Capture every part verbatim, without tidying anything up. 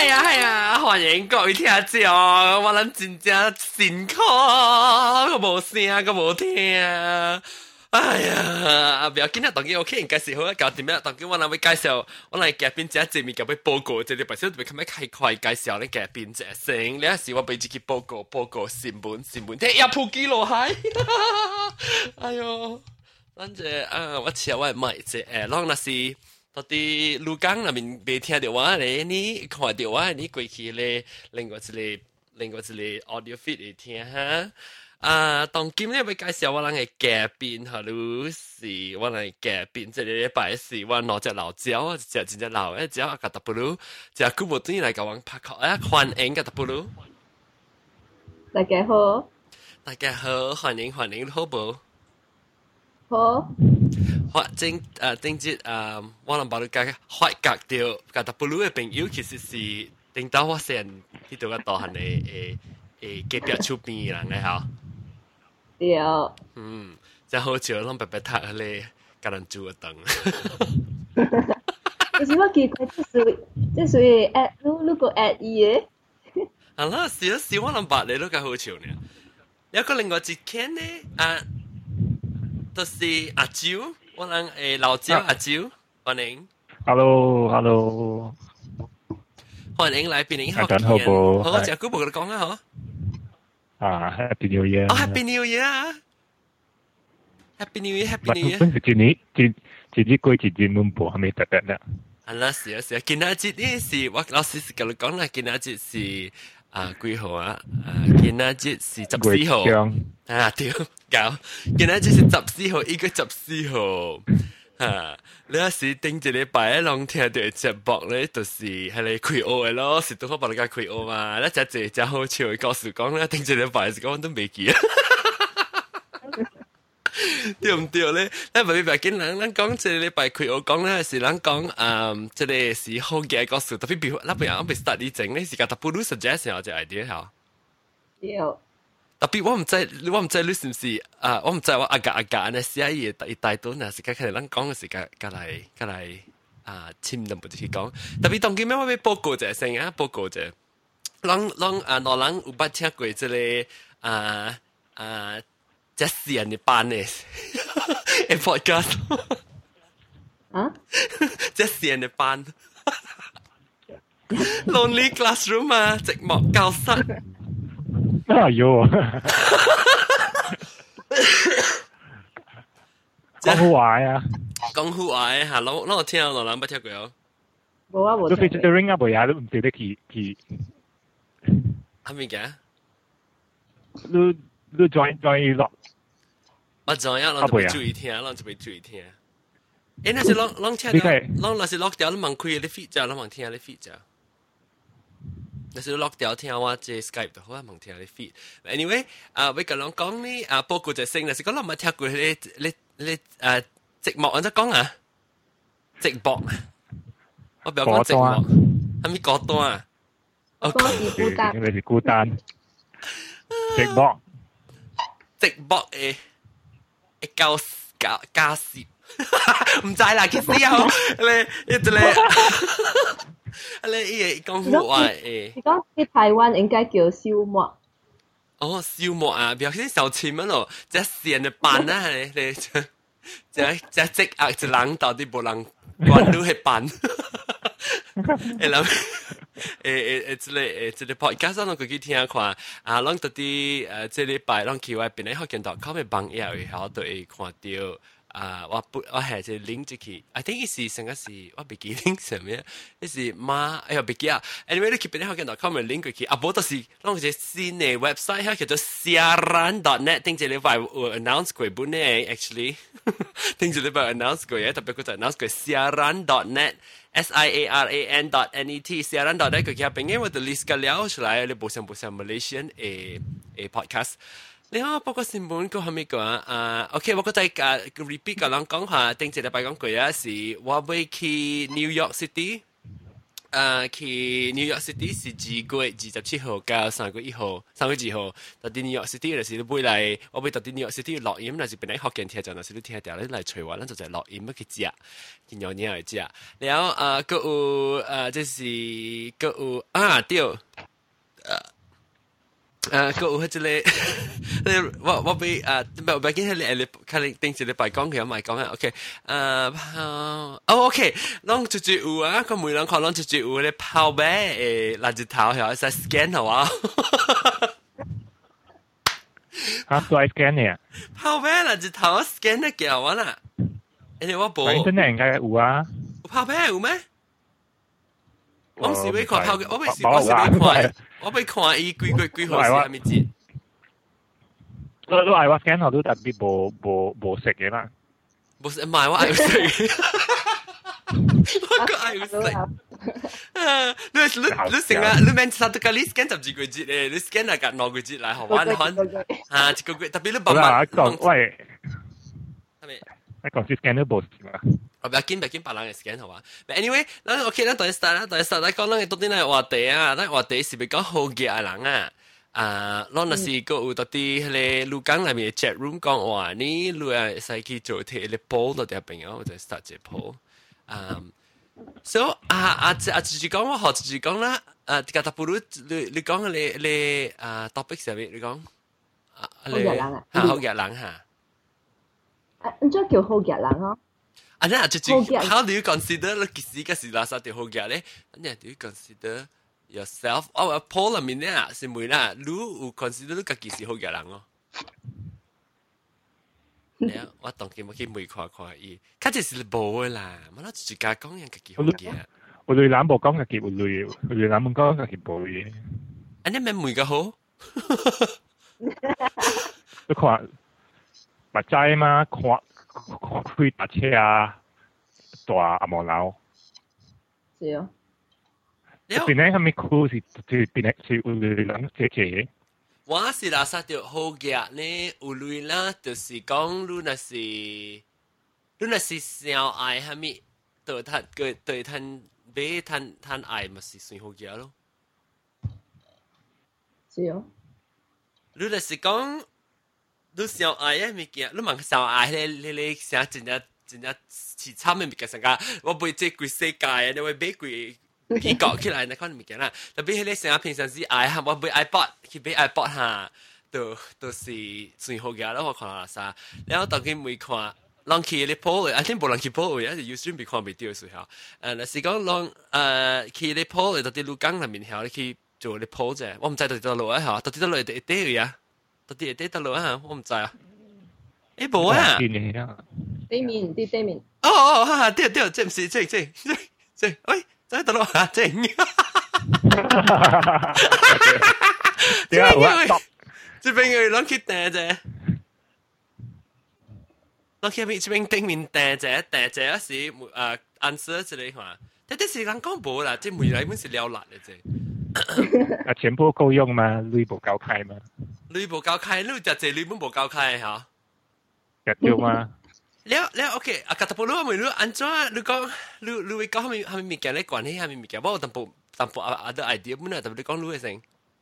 系啊系啊，欢迎各位听众，我咱真正辛苦，个无声个无听。哎呀，不要紧啊，当然 OK， 介绍好啊，搞掂咩？當然我諗會介紹，我嚟嘉賓只正面咁樣報告，即係白少特別咁樣開快介紹咧嘉賓只聲，呢一時我俾自己報告報告新聞新聞，聽一鋪幾落海，哎呦，咱這啊，我請我買只誒，啷那是到底魯江那邊未聽到我咧，你看到我你過去咧，另外一個另外一個 audio feed 嚟聽哈。啊，當今日要介紹我哋嘅嘉賓，哈魯是我哋嘉賓，即係禮拜是我攞隻老椒，隻真隻老嘅椒，個特布魯，隻古無端嚟講我拍殼啊，歡迎個特布魯。 大家好， 大家好，歡迎歡迎，好冇？ 好。 發正誒正節誒，我諗把你介發覺到個特布魯嘅朋友，其實是頂到我先呢度嘅大漢嘅誒誒隔壁厝邊嘅人嘅嚇。 對， 嗯，真好笑，攏白白讀咧，甲人煮個燈。 有時我奇怪，即屬即屬於 at，如如果 at 伊嘅， 啊啦，是啊是，我諗白你都較好笑呢。有個另外一間呢，啊，就是阿蕉，我諗誒老蕉阿蕉，歡迎。 Hello，Hello， 歡迎來賓，你好。 大家好噃， 好，隻古冇佢講啊，嗬。 啊 ，Happy New Year！ 哦 ，Happy New Year 啊 ！Happy New Year，Happy New Year！ 本是一年一一日過一日門步，還沒特別呢。 啊啦，是啊是啊，今仔日呢是我老師是甲你講啦，今仔日是啊幾號啊？啊，今仔日是十四號。啊，對，搞，今仔日是十四號，一個十四號。啊！你有時頂一禮拜攏聽到節目咧，就是係你開學嘅咯，是都好幫你家開學嘛。你只只只好笑嘅故事講咧，頂一禮拜時講都未記啊。對唔對咧？咱唔係見人，咱講一禮拜開學講咧，是咱講誒，即係是好嘅故事。特別比如，那邊我未 start 啲整咧，是個特別 suggest 有隻 idea 嚇。 對。 特別我唔知，我唔知你是唔是啊？我唔知我阿格阿格呢寫嘢第大段啊，時間佢哋咱講嘅時間，隔嚟隔嚟啊，簽都冇得去講。特別當今咩我要報告者先啊，報告者，咱咱啊，老人有捌聽過即個啊啊，即係人嘅班嘅嘅 podcast 啊， 即係人嘅班 ，Lonely Classroom 啊，寂寞教室。 哎呦，講好話呀！ 講好話嘅嚇，攞攞我聽我諗不聽過有。 冇啊冇。 都 featuring 啊，冇呀，都唔記得佢佢。 係咪嘅？ 你你 join join 落。 我 join 啊，我就俾注意聽，我就俾注意聽。誒，那是攞攞聽到，攞那是攞掉，你問開你 feed 咋，你問聽你 feed 咋。那是 lock 掉聽我即 Skype 就好啊，問聽你 feed。anyway， 啊，我咁樣講呢，啊，報告就升，但是講我冇聽過你你你啊，寂寞，我就講啊，寂寞，我唔要講寂寞，係咪孤單啊？ 我是孤單， 因為是孤單，寂寞， 寂寞誒，誒交交交涉，唔知啦，其實有你一直咧。你伊講好話誒， 你講喺台灣應該叫燒麥。 哦，燒麥啊，表示小錢乜咯，即係線嘅班啊，你你即係即係積壓一人到底冇人關到係班。誒諗誒誒誒，即係誒即係 podcast 我佢去聽看啊，攏到啲誒即係禮拜攏去外邊咧，學見到佢咪幫嘢，然後就會看到。啊！我不我係只 link 住佢 ，I think 是成個是我唔記 link 上面，呢是馬哎呀唔記啊 ，anyway 你 keep 你學見到 comment link 佢，啊，不過就是攞隻新嘅 website 叫做 siaran dot net，聽住你話會 announce 過本咧 ，actually 聽住你話 announce 過嘢，特別佢就 announce 過 siaran dot net。S I A R A N dot N E T siaran dot net 佢其實邊嘅我就 list 個了出來，你部上部上 Malaysian 誒誒 podcast。你好，報告新聞個係咪講啊 ？OK， 我覺得啊 repeat 個人講下，頂一禮拜講過啊，是我會去 New York City 誒去 New York City 是二月二十七號到三月一號，三月二號。到啲 New York City 就是你買嚟，我買到啲 New York City 錄音，那是本來學見聽就，那是你聽掉你嚟隨話，咱就就錄音去食，見有嘢嚟食。然後誒，個有誒，即是個有啊，對，誒。誒，個有迄個，我我俾誒，唔係，我俾見你你看你定時你白講佢有賣講啊 ，OK， 誒，哦 ，OK，啷住住有啊，個每人看啷住住有咧泡咩誒垃圾頭係使 scan 係嘛？ 嚇，做 scan 嘅， 泡咩垃圾頭 scan 得嘅我啦，你我冇， 真係應該有啊， 泡咩有咩？我唔是俾看泡嘅，我唔是我是俾看。我俾看伊幾幾幾號是係咪節？ 你你係話 scan 後都特別冇冇冇食嘅啦， 冇食唔係我係食，我個係食。你你你成日你明實到個你 scan 十幾個節咧，你 scan 係隔兩個節嚟學玩玩啊！一個月特別你慢慢講喂， 係咪？ 你講是 scan 都冇事嘛？ 我不要緊，不要緊，別人嘅 scan 好嘛。But anyway，咱 OK，咱第一 start 啦，第一 start 咱講咱嘅到底咱話題啊，咱話題是咪講好嘅人啊？啊，咱若是個有到底迄個錄講內面嘅 chat room 講話，你如果使去做睇個 poll 到啲朋友，我就 start 隻 poll。嗯 ，so 啊啊啊，就是講我學就是講啦，啊，個特別你你講你你啊 topic 上面你講啊，好嘅人啊， 嚇好嘅人嚇。 啊，咁即係叫好嘅人咯。 And then, how do you consider 你其實個是垃圾條好嘅咧 ？And then, do you consider yourself？我話 Paul 入面咧是咪啦？你有 consider 你自己是好嘅人咯？係啊，我當佢冇去問看看伊，佢就是冇啦。我諗自家講人自己好嘅。 我對諗冇講自己有類，我對諗冇講自己冇嘅。 And then 咩每個好？ 你看，目仔嘛，看。開搭車啊，大阿毛樓。 是哦。 邊咧係咪酷是是邊咧是有人姐姐？ 我是垃圾條好嘅呢，有類啦，就是講你那是，你那是小愛係咪？對他個對他俾他他愛咪是算好嘅咯。 是哦。 你那是講。你小愛啊物件，你問小愛咧，你你成真正真正似慘嘅物件，成個我背即規世界啊，你會買規去搞起來那款物件啦。特別係你成日平常時愛哈，我買 iPod 去買 iPod 哈，都都是最好嘅啦。我看下啥，然後當佢每看，人去你鋪嘅，I think 冇人去鋪嘅，有時別看未到時候。誒，嗱是講人誒去你鋪嘅，到啲路江入面後，你去做你鋪啫。我唔知到底路啊嚇，到底到路係點嘅呀？到底係得落啊？我唔知啊。誒冇啊。 對面啲對面。 哦哦，哈哈，對對，即唔是即即即即，喂，真係得落啊！即。點解會？即邊個攞起訂啫？攞起邊邊頂面訂啫，訂啫是誒 answer 之類話，但係是人講冇啦，即每嚟本是了辣嘅啫。 啊，錢不夠用嘛，鐳冇夠開嘛。 鐳冇夠開，你就係鐳本冇夠開嚇。 日照嘛。 了了 OK， 啊，格特布魯咪你安怎？你講你你會講係咪係咪物件咧？關係係咪物件？我淡薄淡薄啊啊啲 idea，本來特別你講你嘅先。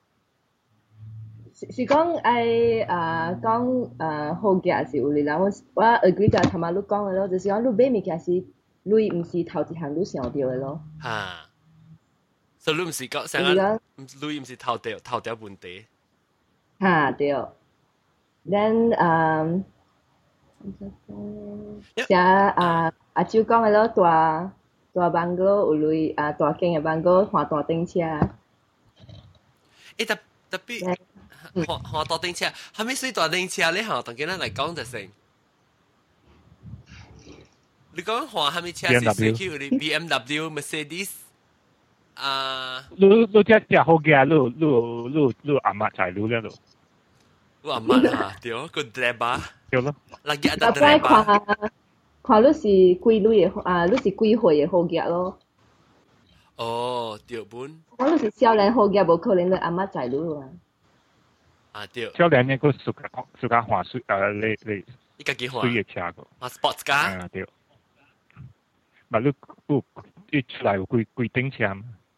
是是講誒啊講誒好嘅是有你啦，我我 agree 就頭先你講嘅咯，就是講你買物件是你唔是頭一項你想到嘅咯。 嚇！所以你唔是講成日，你唔是頭條頭條問題。 嚇對。Then 誒，寫啊阿舅講嘅咯，大大辦公有類啊大間嘅辦公換大頂車。 誒特特別換換大頂車，係咪算大頂車咧？嚇，同佢哋嚟講就成。你講換係咪車是屬於啲 B M W、Mercedes？啊！ 你你只只好嘅，你你你你阿媽在你咧度。 我阿媽啊，對，個 driver。 對咯。 嗱，日日 driver。 看看你是幾類嘅啊？你是幾歲嘅好嘅咯？ 哦，對本。 我你是少年好嘅，冇可能你阿媽在你啊。 啊對。 少年呢個自家自家換水誒，你你。 你家己換。 水嘅車個。 啊 ，sports car。 啊對。咪你你你出來有幾幾頂車嘛？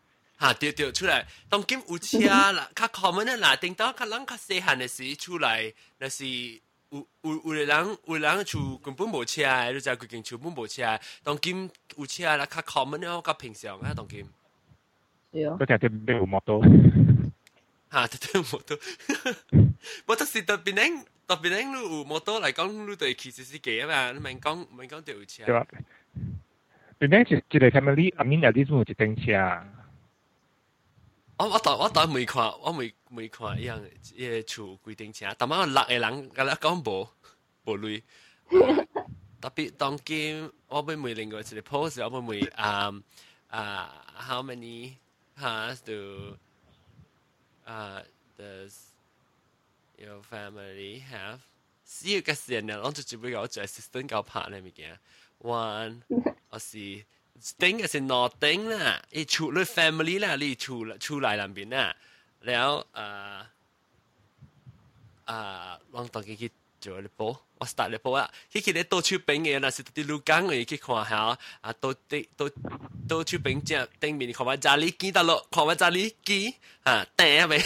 嚇掉掉出嚟，當今有車啦，較 common 咧嗱，頂到較人較細漢嘅時出嚟，那是有有有個人有人厝根本無車嘅，你知佢間厝本無車，當今有車啦，較 common 咧，較平常啊，當今。 對啊。 嗰條啲咩有摩托？ 嚇，特登摩托，我當時特別咧，特別咧，你有摩托嚟講，你對騎士司機啊嘛，你咪講咪講對有車。 對啊。變咧一一個 family，阿面有啲有一頂車。 我我當我當未看，我未未看一樣嘅厝規定車，但係我六個人，我咧講無無類。特別當今我俾每另外一個 post， 我俾每啊啊 how many has to 啊 does your family have？ 四個時人，我就只不過我做 assistant 教拍呢物件 ，one 我是。頂嘅是 nothing 啦，你厝你 family 啦，你厝厝內南邊啦，然後誒誒，我當佢去做你煲，我 start 你煲啊，佢佢咧倒手餅嘅，那是啲路江嘅去看下，啊倒啲倒倒手餅只頂面看下炸哩機得咯，看下炸哩機啊頂咪，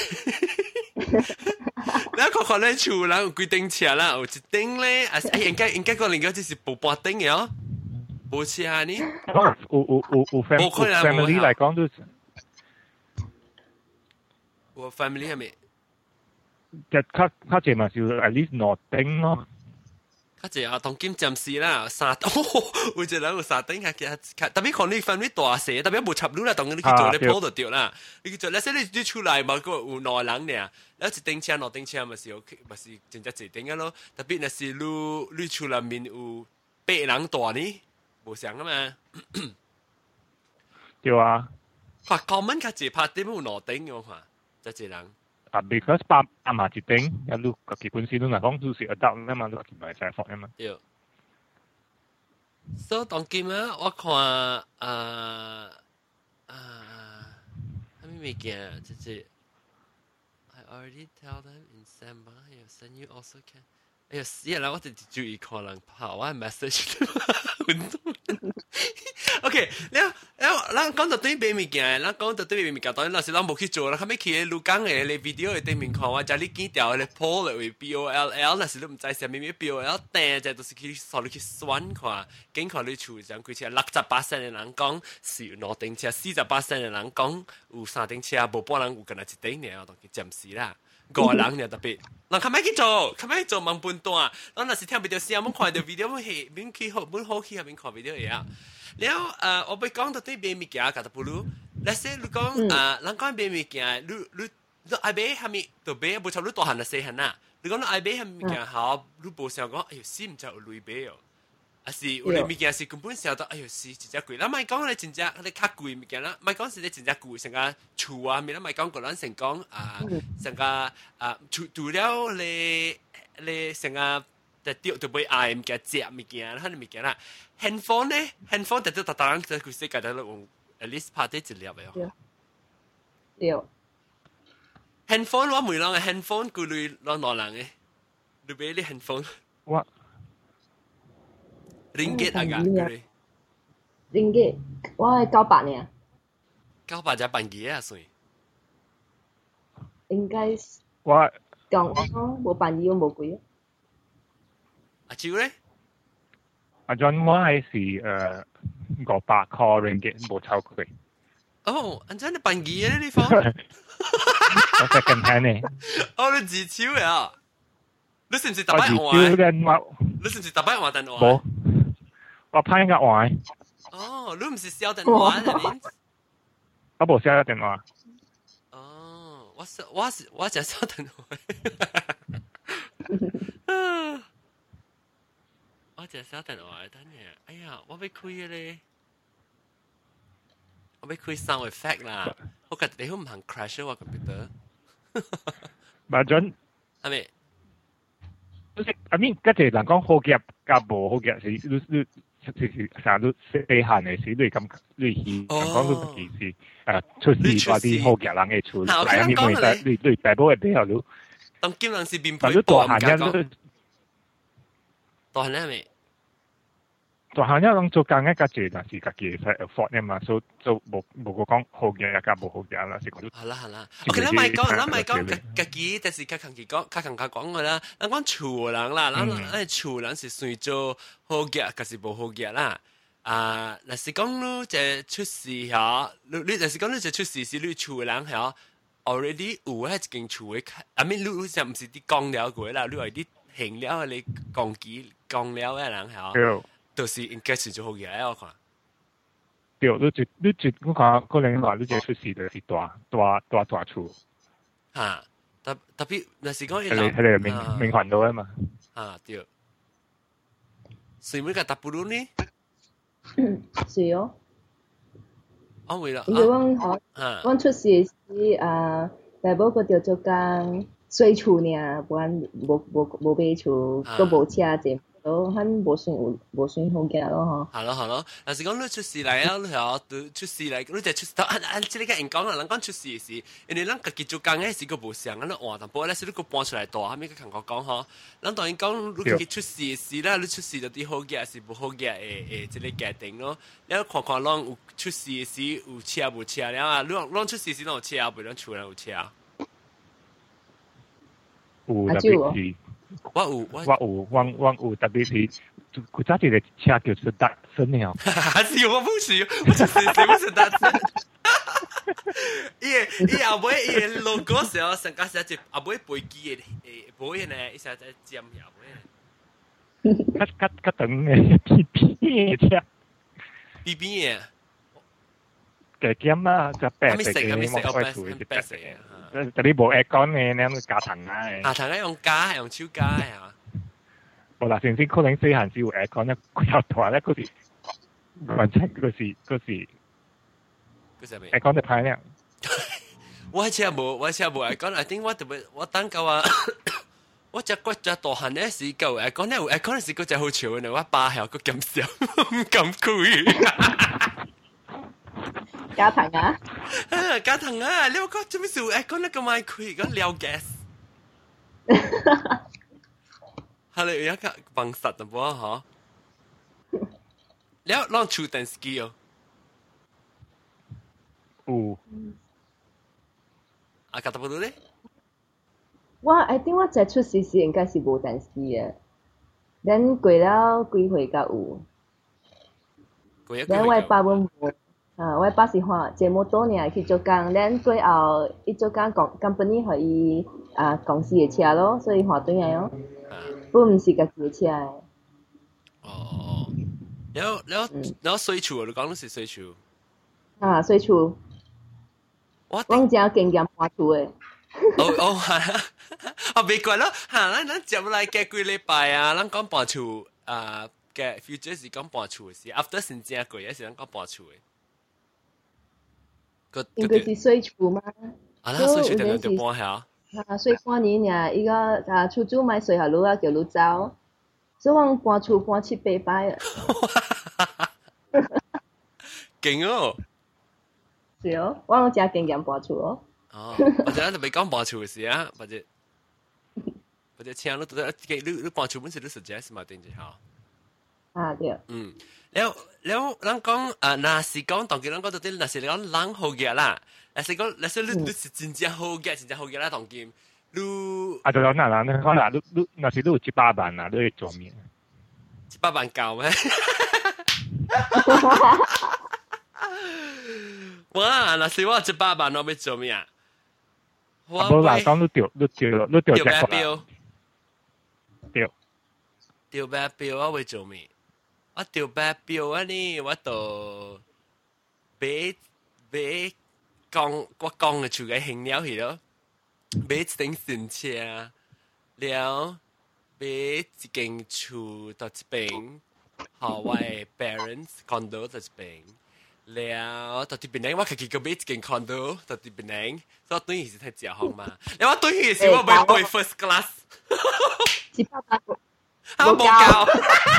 然後看看咧厝啦，有幾頂車啦，有一頂咧，啊哎應該應該個另外就是半半頂嘅哦。冇似啊你， 有有有有 family 嚟講都， 我 family 係咪？ 就較較濟嘛，就 at least 兩頂咯。 較濟啊，當今暫時啦，三哦，有一人有三頂下嘅，特別可能你 family 大細，特別冇插路啦，當你去做你鋪就掉啦。你去做，你說你你出來嘛，個有兩人呢，แล้ว一頂車兩頂車咪是 OK，咪是真正一頂嘅咯。特別那是你你出來面有八人大呢。冇想啊嘛， 對啊。 話講文較濟拍點有兩頂嘅話，就濟人。 啊 ，because 爸爸媽一頂，一路個基本先都嗱講都是 adult 啊嘛，都係唔係細房啊嘛。 對。所以當今啊，我看啊啊，係咩物件？即係 I already tell them in December, I will send you also can。哎呀死啦！我哋注意看人拍我 message。OK， แล้วแล้วแล้ว講到對邊物件，แล้ว講到對邊物件，當然那是咱冇去做啦。後尾去錄講嘅你 video 嘅對面看我，就你剪掉嘅 poll 嚟為 B O L L， 那是你唔知係咩咩 B O L， 但係就係去所你去選看，經看你厝上佢似六十八percent嘅人講是有兩頂車，四十八percent嘅人講有三頂車，無半人有跟佢一頂嘅，我當佢暫時啦。個人又特別，嗱，琴日去做，琴日去做問半段，嗱，那時聽 video 先，我看到 video 我係邊去好，邊好去下邊看 video 嘢啊。然後誒，我俾講到對邊物件，覺得不如，那些你講誒，人講邊物件，你你你愛買係咪？就買，冇錯，你大漢就細漢啊。你講你愛買係物件好，你冇想講，哎呦，死唔知有類買哦。啊是，有啲物件是根本想到，哎呦，是真正貴。嗱，咪講你真正你較貴物件啦，咪講是你真正貴，成個厝啊，咪啦咪講個人成講啊，成個啊，除除了你你成個就掉就買愛物件、食物件，嗰啲物件啦。handphone 咧 ，handphone 特特特特人就佢世界就用 at least 拍啲資料嘅。 對。對。 handphone 我每啷嘅 handphone 佢類啷啷人嘅，你買啲 handphone。 我。 ringgit 啊㗎 ，ringgit， 我係九百呢。 九百就半幾啊算？ 應該我講我冇半幾，我冇貴啊。 阿超咧？ 阿 John 我係是誒五百塊 ringgit 冇超貴。 哦，安真你半幾啊？呢方？ 我 second hand 呢？ 哦，你自超呀？你是唔是特別我自超嘅你是唔是特別話電話？ 冇。我派個話。 哦，你唔是小電話係咪？ 我冇小電話。 哦，我是我是我就小電話。我就小電話，等下，哎呀，我要開嘅咧，我要開 sound effect 啦。我覺得你好唔肯 crash 我 computer。 咪準係咪？ I mean，嗰隻人講好夾夾無好夾是你你。就是成日都細漢嘅時，你咁你去香港都其實誒出事話啲好夾人嘅出嚟，係咪咪但你你大部嘅比較都， 當今人是變配但都大漢人都， 大漢人係咪？ 大漢人講做工嘅家姐，但是家己係 afford 嘅嘛，所以就冇冇個講好嘅一家冇好嘅啦，是講。 好啦好啦 ，OK，咱咪講，咱咪講家家己，但是較強佢講，較強佢講嘅啦。咱講厝人啦，咱咱厝人是算做好嘅，還是無好嘅啦？啊，若是講你這出事嚇，你你若是講你這出事是你厝人嚇 ，already 有喺一間厝嘅，I mean 你你就唔是啲講了過啦，你係啲行了你講機講了嘅人嚇。就是應該是做好嘢我看。 對，你就你就我看可能話你這出事就是大大大大厝。 嚇，特特別若是講一人，係你命命運到啊嘛。 啊對。所以每個搭布魯呢？ 是哦。 哦，為了。 因為我我出事時啊，大寶個條做工水厝呢，不然無無無買厝，個無車啫。都很無算有無算好嘅咯嗬。係咯係咯，但是講你出事嚟啊，你係都出事嚟，你就出事。啊啊！即係個人講啦，人講出事時，因為人家己做工嘅時個無相，咁你換淡薄咧，時你個搬出來大，後尾佢同我講嗬，人當然講你己出事時啦，你出事就啲好嘅，是唔好嘅，誒誒，即係決定咯。你看看人有出事時有車無車，然後你人出事時有車，唔係厝人有車。 有特別是。 我有，我有，我我有特別是，古早啲嘅車叫做達森嘅。 還是我不是，我就是是不是達森？伊伊後尾伊 logo 時候，成家寫住後尾飛機嘅誒保險咧，一下在尖後尾。 較較較長嘅 B B 嘅車。 B B 嘅。 嘅尖啦，就白色嘅，冇開除嘅白色嘅。但係冇 aircon 嘅，你咁加藤啊？ 啊，藤係用加，用超加啊！ 冇啦，先先可能細漢時有 aircon 咧，佢又大咧，嗰時完全嗰時嗰時嗰時咩 aircon 就排咧。 我車冇，我車冇 aircon，I think 我特別我等夠啊！我只骨只大漢咧時夠 aircon 咧，aircon 時嗰只好潮嘅，我爸係個咁少，唔敢開。 加藤啊！ 啊，加藤啊！你話講做咩事？誒，講得咁賣開，講撩 gas。係你有一個bằng實嘅噃，嗬？你有攞儲電機哦？ 有。 啊，覺得唔到咧？ 我 I think 我只出事時應該是無電機嘅，等過了幾歲才有。 過咗幾歲？ 等我爸本無。啊！我爸是話節目多年去做工，咱過後伊做工公 company 互伊啊公司嘅車咯，所以換轉來咯。不毋是家己嘅車誒。 哦，然後然後然後水厝，你講的是水厝。 啊，水厝。我我正經驗搬厝誒。 哦哦係啊，啊未怪咯嚇，咱咱接來嘅幾禮拜啊，咱講搬厝啊嘅 future 是講搬厝嘅事 ，after 先正過嘢是咱講搬厝嘅。 應該是水厝嘛？ 啊，那水厝點樣就搬下？ 啊，水半年呀，伊個啊厝主買水下路啊，叫路走，所以我搬厝搬七八擺啊。 勁哦！ 是哦，我有真經驗搬厝哦。 哦，或者咱就未講搬厝嘅事啊，或者或者請你到底你你搬厝本身你實際是嘛定住嚇？ 啊對。 嗯。แล้วแล้ว咱講啊，那是講當佢咱講到啲，那是講人好嘅啦，那是講那是你你是真正好嘅，真正好嘅啦，當佢你啊，就講嗱嗱，你講嗱，你你那是你有一百萬啦，你去做咩？ 一百萬夠咩？哇！那是我一百萬，我要做咩啊？ 我冇講你掉你掉你掉隻標， 掉掉白標，我會做咩？我掉白標啊！呢我就買買鋼我鋼嘅厝嘅興了去咯，買一頂新車，了買一間厝到一邊，好我嘅 parents condo 到一邊，了到啲邊呢，我自己個買一間 condo 到啲邊呢，所以對於是太正好嘛。然後我對於是我買買 first class， 一百八啊冇夠。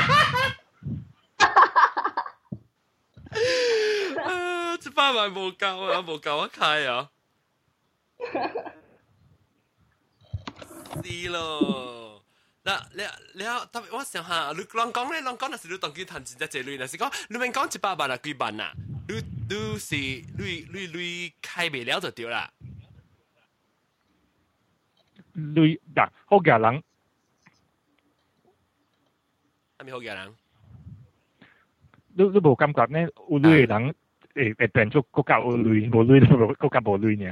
啊！一百萬冇夠啊，冇夠我開啊！是咯， 嗱，你你特別我想下，你講講咧，講講那是你當佢談真正這類，那是講你免講一百萬啊幾萬啊，你你是你你你開未了就對啦。 你嗱，好嘅人， 係咪好嘅人？ 你你無感覺呢？有類嘅人誒誒變做國家有類，無類就國家無類呢？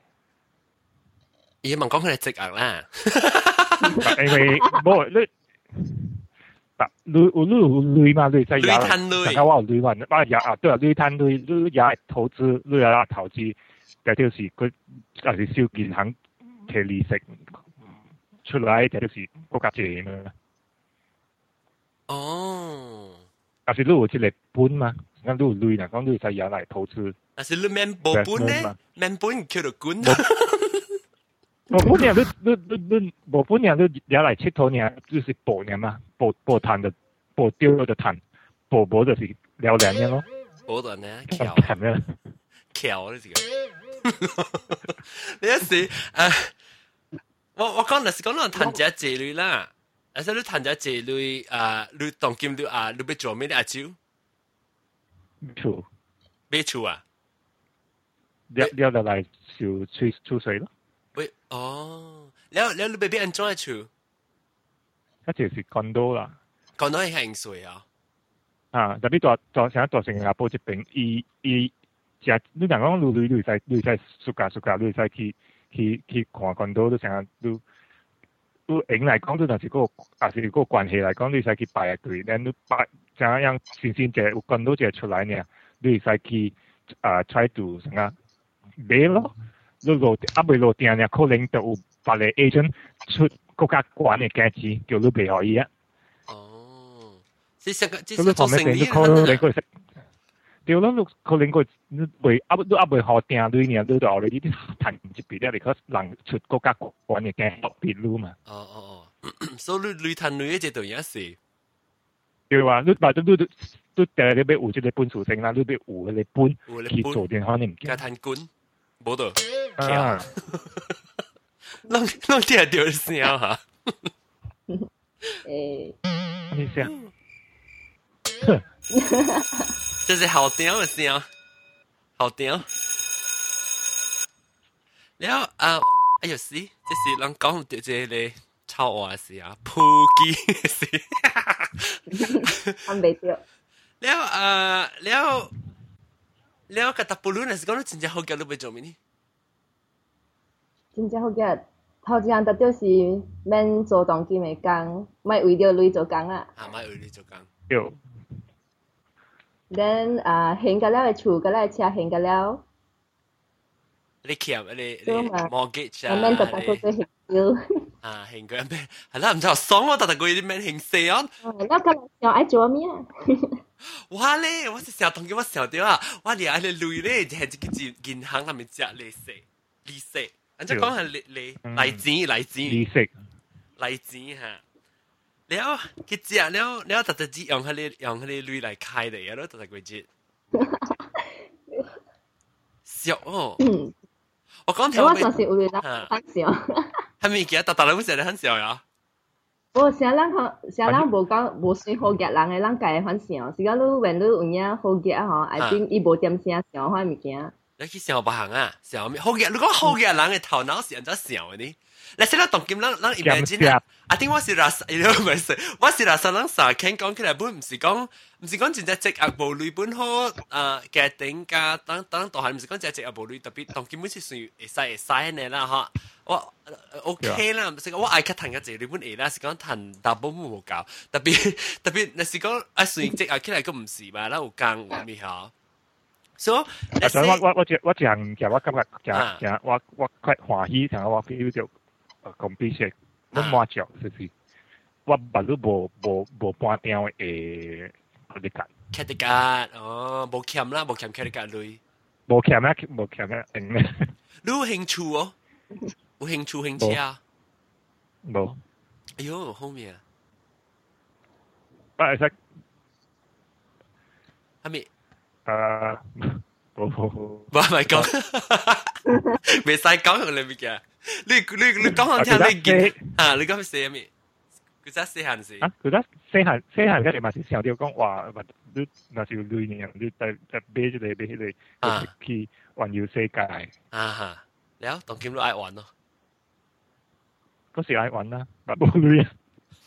伊問講佢係職業啦。 因為冇你，但你有你有類嘛？你在也，大家話有類嘛？啊也啊，對啊，你攤類，你也投資，你也投資，就就是佢還是小銀行摕利息出來，就就是國家借嘛。 哦。 但是你有一個本嘛？咁你有類啦，講你在也來投資。 但是你免無本呢？免本叫做滾。 無本呢，你你你你無本呢，你也來佚佗呢，就是博呢嘛，博博賺的，博丟就賺，博博就是了兩嘅咯。 博的呢，巧，巧呢個。你一時誒，我我講那是講那談只這類啦，但是你談只這類啊，你當今你啊，你要做咩呢？阿舅？ 厝。 買厝啊？ 了了就來就吹吹水咯。 喂，哦，แล้วแล้ว你ไปเป็นอันจ้อยชู嗰就是คอนโด啦。 คอนโด係興水啊？ 啊，特別大大成大新加坡這邊，伊伊只你講講你你你使你使暑假暑假你使去去去看คอนโด，你成日你你影嚟講，你若是個還是個關係嚟講，你使去排隊，然後你排怎樣新鮮隻有คอนโด隻出來呢，你使去啊 try to 什麼買咯。你落啊未落定呢，可能就有別個 agent 出國家管嘅價錢，叫你賣予伊啊。 哦，即係個即係做生意可能佢食，對咯，你可能佢未啊都啊未好定對呢，你就後來呢啲談一筆咧，你可能出國家管嘅價特別攞嘛。 哦哦哦，所以你你談你一隻對嘢事。 對話，你或者你你你第日你要有這個本屬性啦，你要有嗰個本去做電話你唔驚。 加談官。冇到， 啊！ 弄弄啲掉聲嚇。 誒， 你聲， 這是好屌嘅聲，好屌。แล้ว啊，哎呀死，這是人講到這個臭話嘅事啊，撲機嘅事。 啱未掉。 แล้ว啊，แล้ว。แล้วกระตับปูรุ่นน่ะสิ講到真正好嘅，你會做咩呢？ 真正好嘅，頭一項特別是免做當金嘅工，咪為咗累做工啊。 啊，咪為你做工。 有。 then 啊，現個了嘅厝，個了車現個了。 你欠你你 mortgage 啊？ 免特特個個現少。 啊，現個咩？係啦，唔知我爽我特特個啲咩現四啊？ 哦，那個又愛做咩？ 哇咧！我是成日同佢我成日點啊！我哋嗌你累咧，就係自己銀行入面借利息，利息。人家講係利利利錢，利錢。 利息。 利錢嚇。แล้ว佢借แล้วแล้ว特特只用佢哋用佢哋累嚟開嚟啊！咯特特個節。笑哦！我講條。 我上次有啦，很笑。 係咪記得特特你好似你很笑呀？ 我成人學成人無講無算好嘅人嘅人家反想，是講你when你有影好嘅嗬，I think 伊無點聲想開物件。 你去想別行啊，想咩好嘅？你講好嘅人嘅頭腦是安怎想嘅呢？你識得當今人人 imagine 啊？I think 我是拉薩，唔係，我是拉薩人撒傾講起來本唔是講唔是講真正職業無類本好啊嘅頂價等等都係唔是講真正職業無類特別當今本是算會使會使嘅啦嗬。我 OK 啦，唔是講我愛較談嘅這類本嘢啦，是講談大部分冇教，特別特別，那是講啊算職業起來個唔是嘛，啦有講有咩嚇。所以， 我我我我講講我感覺講講我我快歡喜，同我 feel 到講比些，我滿足就是我把你無無無半點誒嗰啲價。 卡啲價哦，無欠啦，無欠卡啲價類。 無欠啦，無欠啦，應咧。 你有興趣哦？有興趣興趣啊？ 冇。 哎呦，後面啊！ 啊，係係咪？ 誒，冇冇。 唔係講，未使講用你咩嘅？你你你講下聽你見啊？你講寫咩？ 佢真細漢時啊，佢得細漢細漢嗰陣嘛是想到講話，你若是有類呢，你就就買一個買一個去環遊世界。 啊哈，แล้ว當今都愛玩咯。 嗰時愛玩啦，但冇類啊。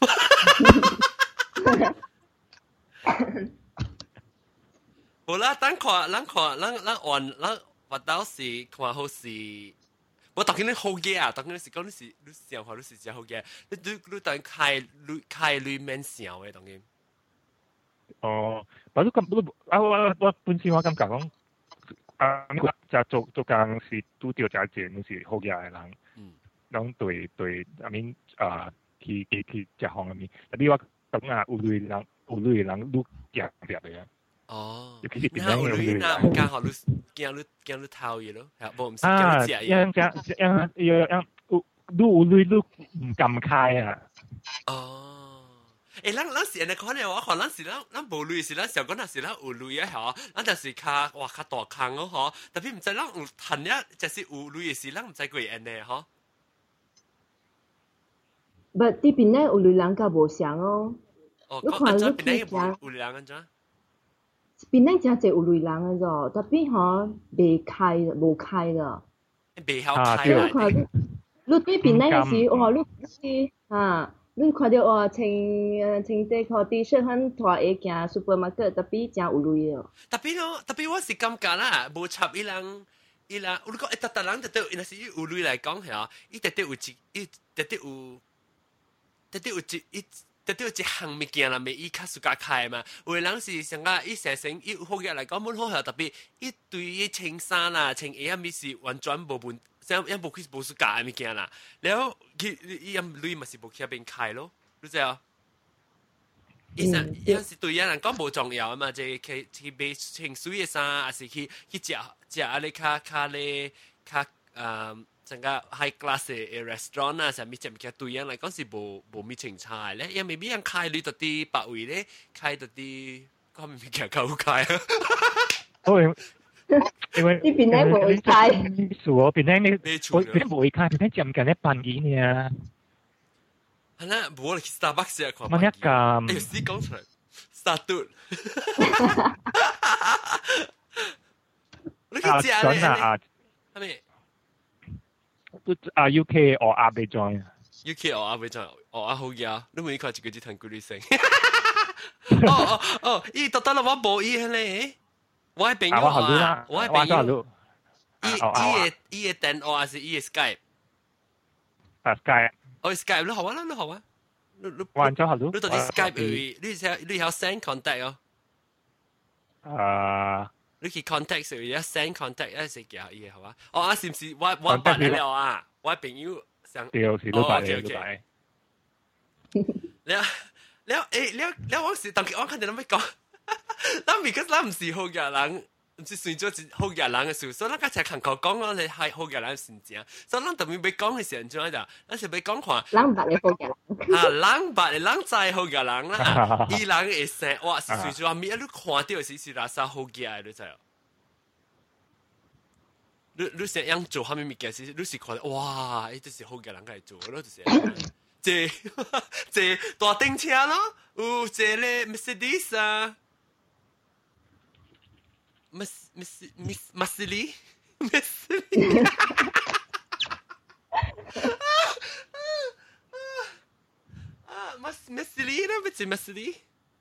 好啦，等看，咱看，咱咱玩，咱活到時看好時。我當然你好嘢啊，當然是講你是你想話你是真好嘢，你你你當開類開類免想嘅當然。 哦，不過咁啊我我本身我感覺講啊，你就做做工是拄着真濟你是好嘢嘅人，嗯，攏對對，I mean 啊，去去去食方面，但你我講啊，有類人有類人愈夾夾嘅。 哦， 尤其是那有類那唔剛好你驚你驚你偷嘢咯，係無唔是驚你食嘢。 樣樣樣樣樣有愈有類愈唔敢開啊。 哦，誒，咱咱是安尼講咧，我看咱是咱咱無類是咱想講那是咱有類啊，嗬，咱就是較哇較大坑咯，嗬，特別唔知咱有趁一就是有類嘅事，咱唔知佢安尼，嗬。 不，啲邊咧有類人較無想哦。 哦，講安怎邊咧有有類人安怎？ 邊咧真係有類人嘅啫，特別嗬未開無開嘅。 未曉開。 你你對邊咧時，哇！你你啊，你看到哇，穿誒穿這個 T 恤很大嘅行 supermarket，特別真有類嘅。 特別咯，特別我是感覺啦，無插伊人伊人，我講誒，特特人特特，若是有類來講係啊，伊特特有一，伊特特有，特特有一一。特別有一項物件啦，咪伊較暑假開嘛。有個人是上個伊成成伊好嘅嚟講，滿好係特別，伊對伊穿衫啦、穿鞋啊，咪是完全無問，像一無佢無暑假嘅物件啦。然後佢伊咁類咪是無去邊開咯，你知啊？伊成伊是對伊人講無重要啊嘛，即係去去買穿水嘅衫，還是去去食食啊你較較咧較誒。成個 high class 嘅 restaurant 啊，上面食物件對人嚟講是無無咩情差咧，因為未必人開你到啲百位咧，開到啲嗰物件夠開啊。 哦，因為呢邊咧冇會開， 是我邊咧你我邊冇會開，邊咧佔緊一半幾呢？ 係啦，冇嚟 Starbucks 啊，看乜一咁？ 哎呀，死講出嚟 ，Starbucks。你去食咧？ 啊， 係咪？ 啊 U K 我阿未 join 啊 ，U K 我阿未 join， 我阿好嘢，你每看一個字談古語聲。哦哦哦，伊特登啦，我冇伊咧，我係朋友啊，我係朋友。伊伊嘅伊嘅電話還是伊嘅 Skype？ 啊 Skype， 哦 Skype，你好啊，你好啊，你你玩咗好多。 你到底 Skype 你你有你有 send contact 哦？ 啊。 你去 contact 時，一 send contact 一時叫伊好啊。哦啊，是唔是我我辦了啊？我朋友想， 對，是都辦嘅，都辦。 了了誒了了，我是當我看到你咪講，咱 because 咱唔是好嘅人，唔是算咗一好嘅人嘅事，所以咱家只看口講我哋係好嘅人先正，所以咱特別要講嘅時陣點啊？咱是要講看， 人白嘅好嘅人， 啊人白嘅人在好嘅人啦，伊人會生哇是算咗咪一路看到是是垃圾好嘅，你知啊？你你成樣做下面物件是，你是看哇，呢啲是好嘅人嚟做咯，就是。坐坐大頂車咯，有坐咧 Mercedes 啊 ，Mas Mas Mas Masli Masli， 啊 Mas Masli 啦，唔係 Masli。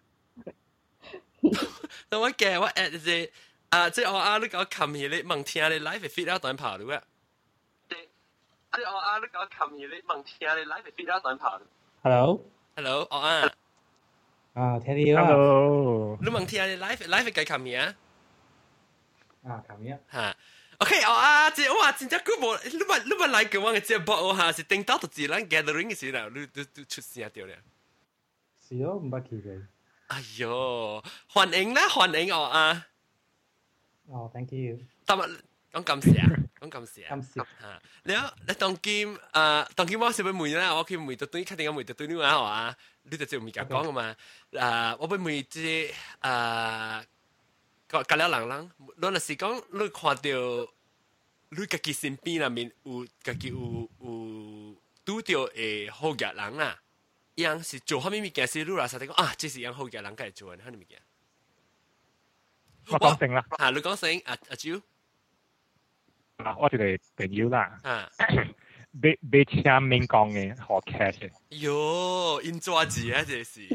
但我嘅我 at 即啊，即我啱你講琴日你問聽你 live fit 啊，短跑嘅。即係我啱你講琴日你問聽你 live fit 啊，短跑。 Hello，Hello， 我啊， 啊，聽你啊。 Hello， 你問聽你 live live 計琴日啊？ 啊，琴日。 嚇 ，OK，我啊，即係哇，真正佢冇，你咪你咪嚟嘅話，嘅節目我嚇是定到到自然 gathering 嘅時候，你你你出聲掉咧。 是咯，唔捌記嘅。 哎呦，歡迎啦，歡迎我啊。 哦 ，thank you。 但係講咁時啊，講咁時啊。 咁時。 嚇，你啊，你當今誒當今我是要問啦，我去問到對，確定我問到對你話係嘛？你就就唔係講嘅嘛？誒，我要問即誒個隔了人人，你若是講你看到你家己身邊入面有家己有有拄到誒好嘅人啊， 样是做虾米物件是你啦，實際講啊，這是樣好嘅人家做嘅，蝦米物件？ 我講聲啦。 嚇，你講聲，阿阿蕉。 啊，我一個朋友啦。 啊。 買買車免講嘅，好 cash 嘅。 喲，因抓字啊，這是。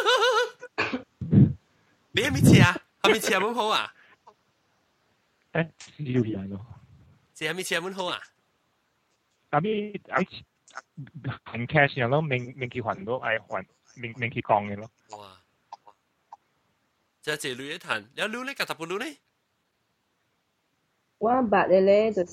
你係咪車啊？係咪車咁好啊？ 誒，少人咯。 這係咪車咁好啊？ 阿咪阿還 cash 樣咯，免免去還咯，愛還免免去講嘅咯。 哇！這這類一談，有路咧，夾搭部路咧。 我捌嘅咧就是。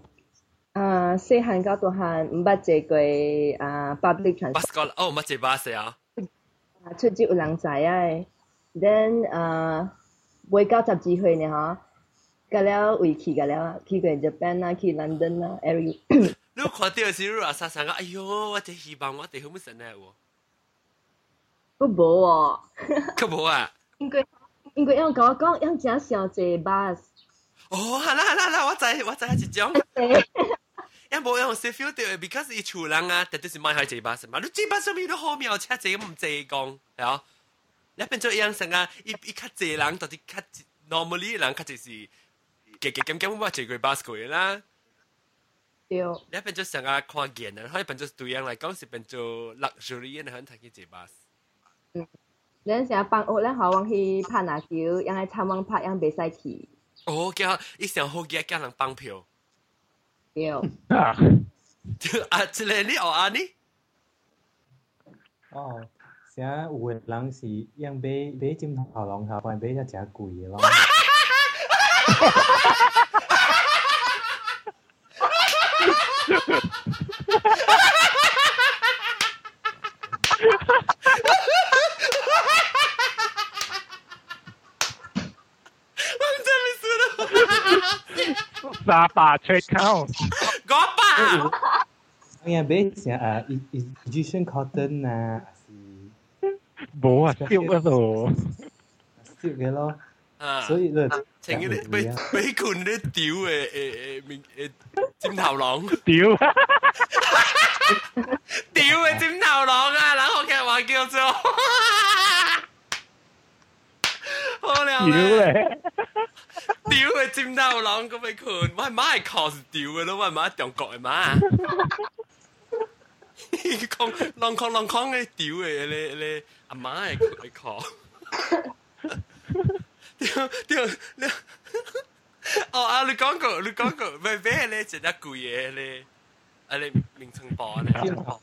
啊，細漢到大漢唔捌坐過啊 public transport。 巴士過哦，唔捌坐巴士啊。 啊，出節有人知啊。then 啊，未到十幾歲呢嗬，到了回去到了，去過 Japan 啊，去 London 啊 ，every。 你看到時你話啥啥個？哎呦，我真希望我哋好唔神啊喎。 佢冇喎。 佢冇啊？ 因為因為樣講講樣真少坐巴士。 哦，係啦係啦係啦，我知我知係一種。因冇用 feel 到 ，because 伊厝人啊，特別是買開坐巴士嘛，你坐巴士咪都好妙，車坐咁唔坐講，係啊。你變做樣成啊，伊伊較坐人，到底較 normally 人較就是夾夾咁咁我坐過巴士過啦。 對。 你變做成啊看見啊，可以變做對人嚟講是變做 luxury 嘅，很睇去坐巴士。 嗯，你成日放學咧，好往去拍籃球，樣喺參網拍，樣袂使去。 哦，叫伊上好嘅叫人放票。 對。 啊， 啊，這個你學啊你？ 哦，成有個人是樣買買枕頭籠下，反買一隻貴嘅咯。 沙巴吹口， 我爸。 哎呀，買成啊，Egyptian cotton 啊，是冇啊，燒嗰度， 燒嘅咯。 啊， 所以咧， 情願你俾俾佢啲屌誒誒誒面誒尖頭狼， 屌， 屌嘅尖頭狼啊！冷學劇話叫做，好了咧。屌嘅尖頭狼咁咪佢，我係媽係 cos 屌嘅咯，我係媽中國嘅媽。講浪講浪講嘅屌嘅，你你阿媽係佢 cos。屌屌你，哦啊！你講過你講過，咩咩咧？食得貴嘢咧，啊你名稱榜咧。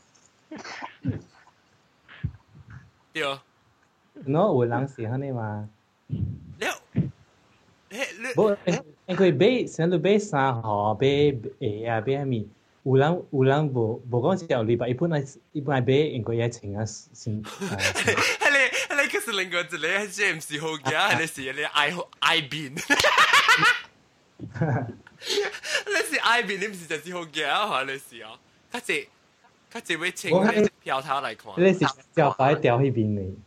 對。 喏，有人是安尼嘛？ 了。 無，因為買成日買衫吼，買鞋啊，買蝦米？有人有人無無講是後禮拜，一般係一般係買，因為嘢穿啊先。 係你係你其實另外一個係即係唔是好嘅，係你是你愛愛變。你是愛變，你唔是就是好嘅啊？係你是哦，佢只佢只會穿嘅票頭嚟看。 你是腳擺掉喺邊嚟？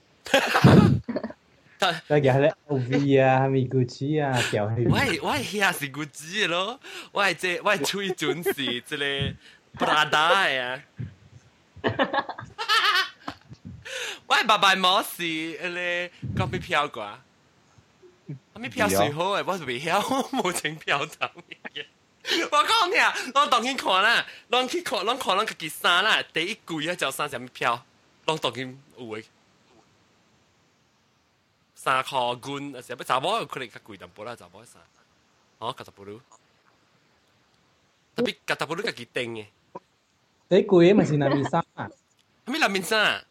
大家咧 L V 啊，咪 Gucci 啊，掉喺。 我係我係遐是 Gucci 咯，我係即我係吹準是即個 Prada 啊。我係白白冇事，你講咩票啩？咩票最好誒？我係未曉，冇整票頭嘅。我講你啊，我當去看啦，當去看，當看咱家己衫啦，第一季啊就衫什麼票，當當去有誒。三箍罐，有時要查某可能較貴淡薄啦，查某衫，哦，加十布魯，特別加十布魯家己訂嘅。 第貴嘅咪是南面衫啊？ 咩南面衫？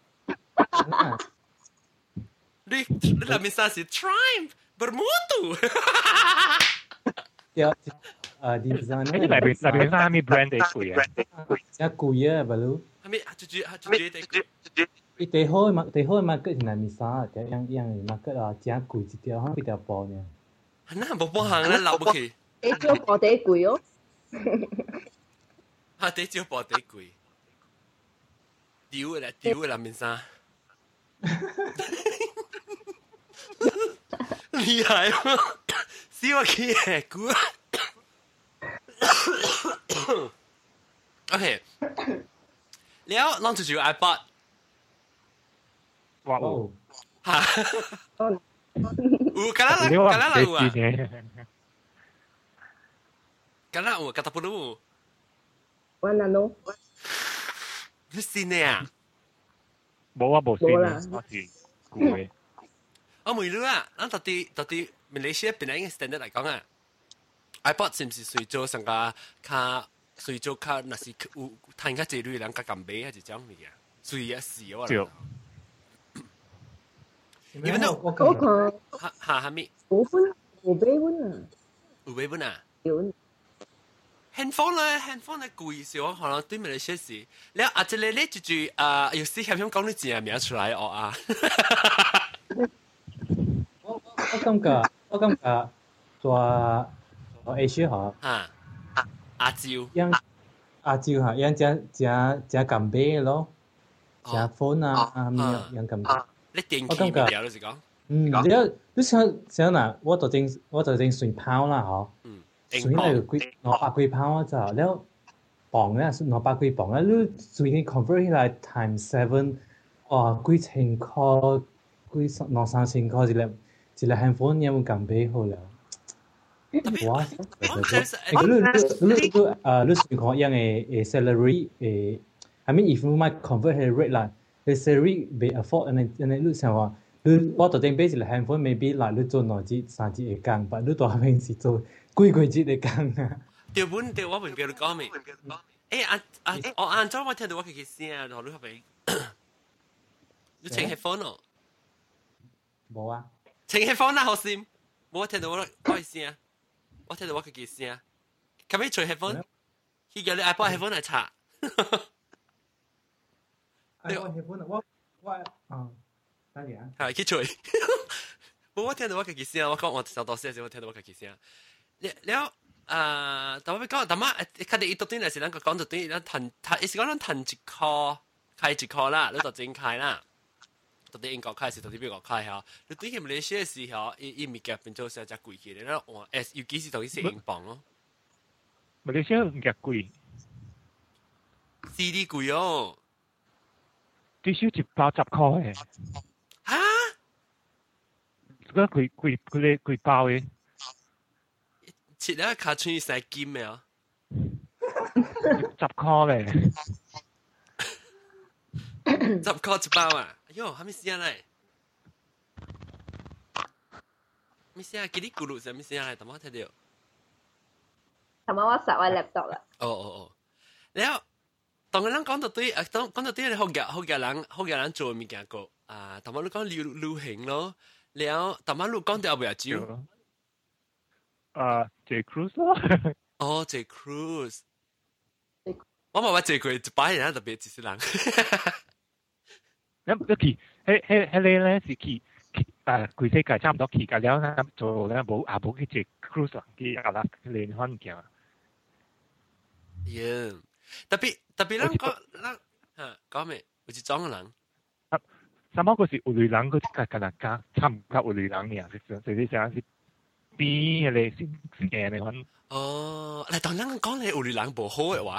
你你南面衫是 Triumph Bermuda。 有誒 design。 誒，南面南面衫咩 brand 最貴啊？ 真貴啊，布魯。 係咪？最最最最最。 伊最好嘅嘛，最好嘅 market 是南面衫，就樣樣嘅 market 啊，真貴一條，可幾條布呢？ 那冇幫行咧，留唔起。 你做布地貴哦。 嚇！地做布地貴，屌嘅啦，屌嘅南面衫。厲害喎！試我企嘅估。OK，แล้วลองจู่ๆ iPod 我有。 嚇，有，敢若敢若有啊？敢若有，敢若不有？ 我哪喏？ 你信的啊？ 冇啊，冇信啊，我是舊嘅。 我問你啊，咱到底到底馬來西亞邊個 standard 嚟講啊 ？iPod 是唔是隨做上個卡隨做卡，那是有賺較濟類人較敢買還是點物啊？隨啊是我啦。因為都我看哈哈哈咪？ 五分五百蚊啊？ 五百蚊啊？ 有。 handphone 咧 ，handphone 咧貴時我可能對面嚟說是，你啊，即係你就住啊，有時想想講你字嘅名出來哦啊。 我我感覺我感覺做做 Asia 嗬， 嚇亞洲， 樣亞洲嚇，樣正正正咁買咯，正 phone 啊啊咩樣咁買。 你電器咪了，你是講？ 嗯，你你想想嗱，我就正我就正算拋啦嗬。嗯。算係幾攞百幾磅就，แล้ว磅咧攞百幾磅咧，你算係 convert 起來 times seven， 哦幾千塊，幾兩三千塊一粒一粒 handphone 有冇咁比好了？哇！你你你你誒你算講樣嘅誒 salary 誒 ，I mean if you might convert 係 rate 啦，你 salary 被 afford，and and 你想話。你我就正俾一個 handphone maybe 嗱，你做兩節三節會工，但你大平時做幾幾節會工啊？ 對本對我唔記得講咩？誒啊啊！我晏晝我聽到我嘅聲啊，同你係咪？你請 headphone 哦？ 冇啊！ 請 headphone 啦，好先，冇聽到我嘅聲啊！我聽到我嘅聲啊！咁你除 headphone，佢叫你 iPod headphone 嚟插。 iPod headphone 我我啊。 係佢吹，冇我聽到我嘅聲，我講我上到時時我聽到我嘅聲。แล้ว啊，但我講，但係佢哋一到端嚟時，咱個講到端，咱騰，佢意思講咱騰一箍，開一箍啦，你就真開啦。到底英國開是到底美國開嚇？你對佢馬來西亞時候，伊伊物件變做成只貴起嚟，咱換 S，尤其是同伊是英鎊咯。 馬來西亞物件貴 ，C D 貴哦， 至少一包十塊嘅。 嚇！ 嗰佢佢佢哋佢包嘅， 切咗卡穿晒金嘅啊！ 十塊咧， 十塊一包啊！哎呦，還沒寫嚟，沒寫，幾啲咕嚕就沒寫嚟，同我睇到。 同埋我實我 laptop 啦。 哦哦哦，然後當個人講到對，誒當講到對，你好嘅好嘅人好嘅人做物件個。啊，頭先你講流流行咯，แล้ว頭先你講到邊一招？ 啊 ，J Cruise 咯。 哦 ，J Cruise。我冇話 J Cruise 一擺人特別幾少人。 咁一期，迄迄迄個咧是期，啊，規世界差唔多期㗎了，咁做咧冇啊冇去 J Cruise 去啊啦聯歡嘅。 呀，特別特別人講人嚇講咩？有一種人。 什麼嗰時有類人嗰啲格格人家，差唔多有類人嘅，實際實際上是比嗰啲先嘅嚟講。 哦，嚟當人講你有類人無好嘅話，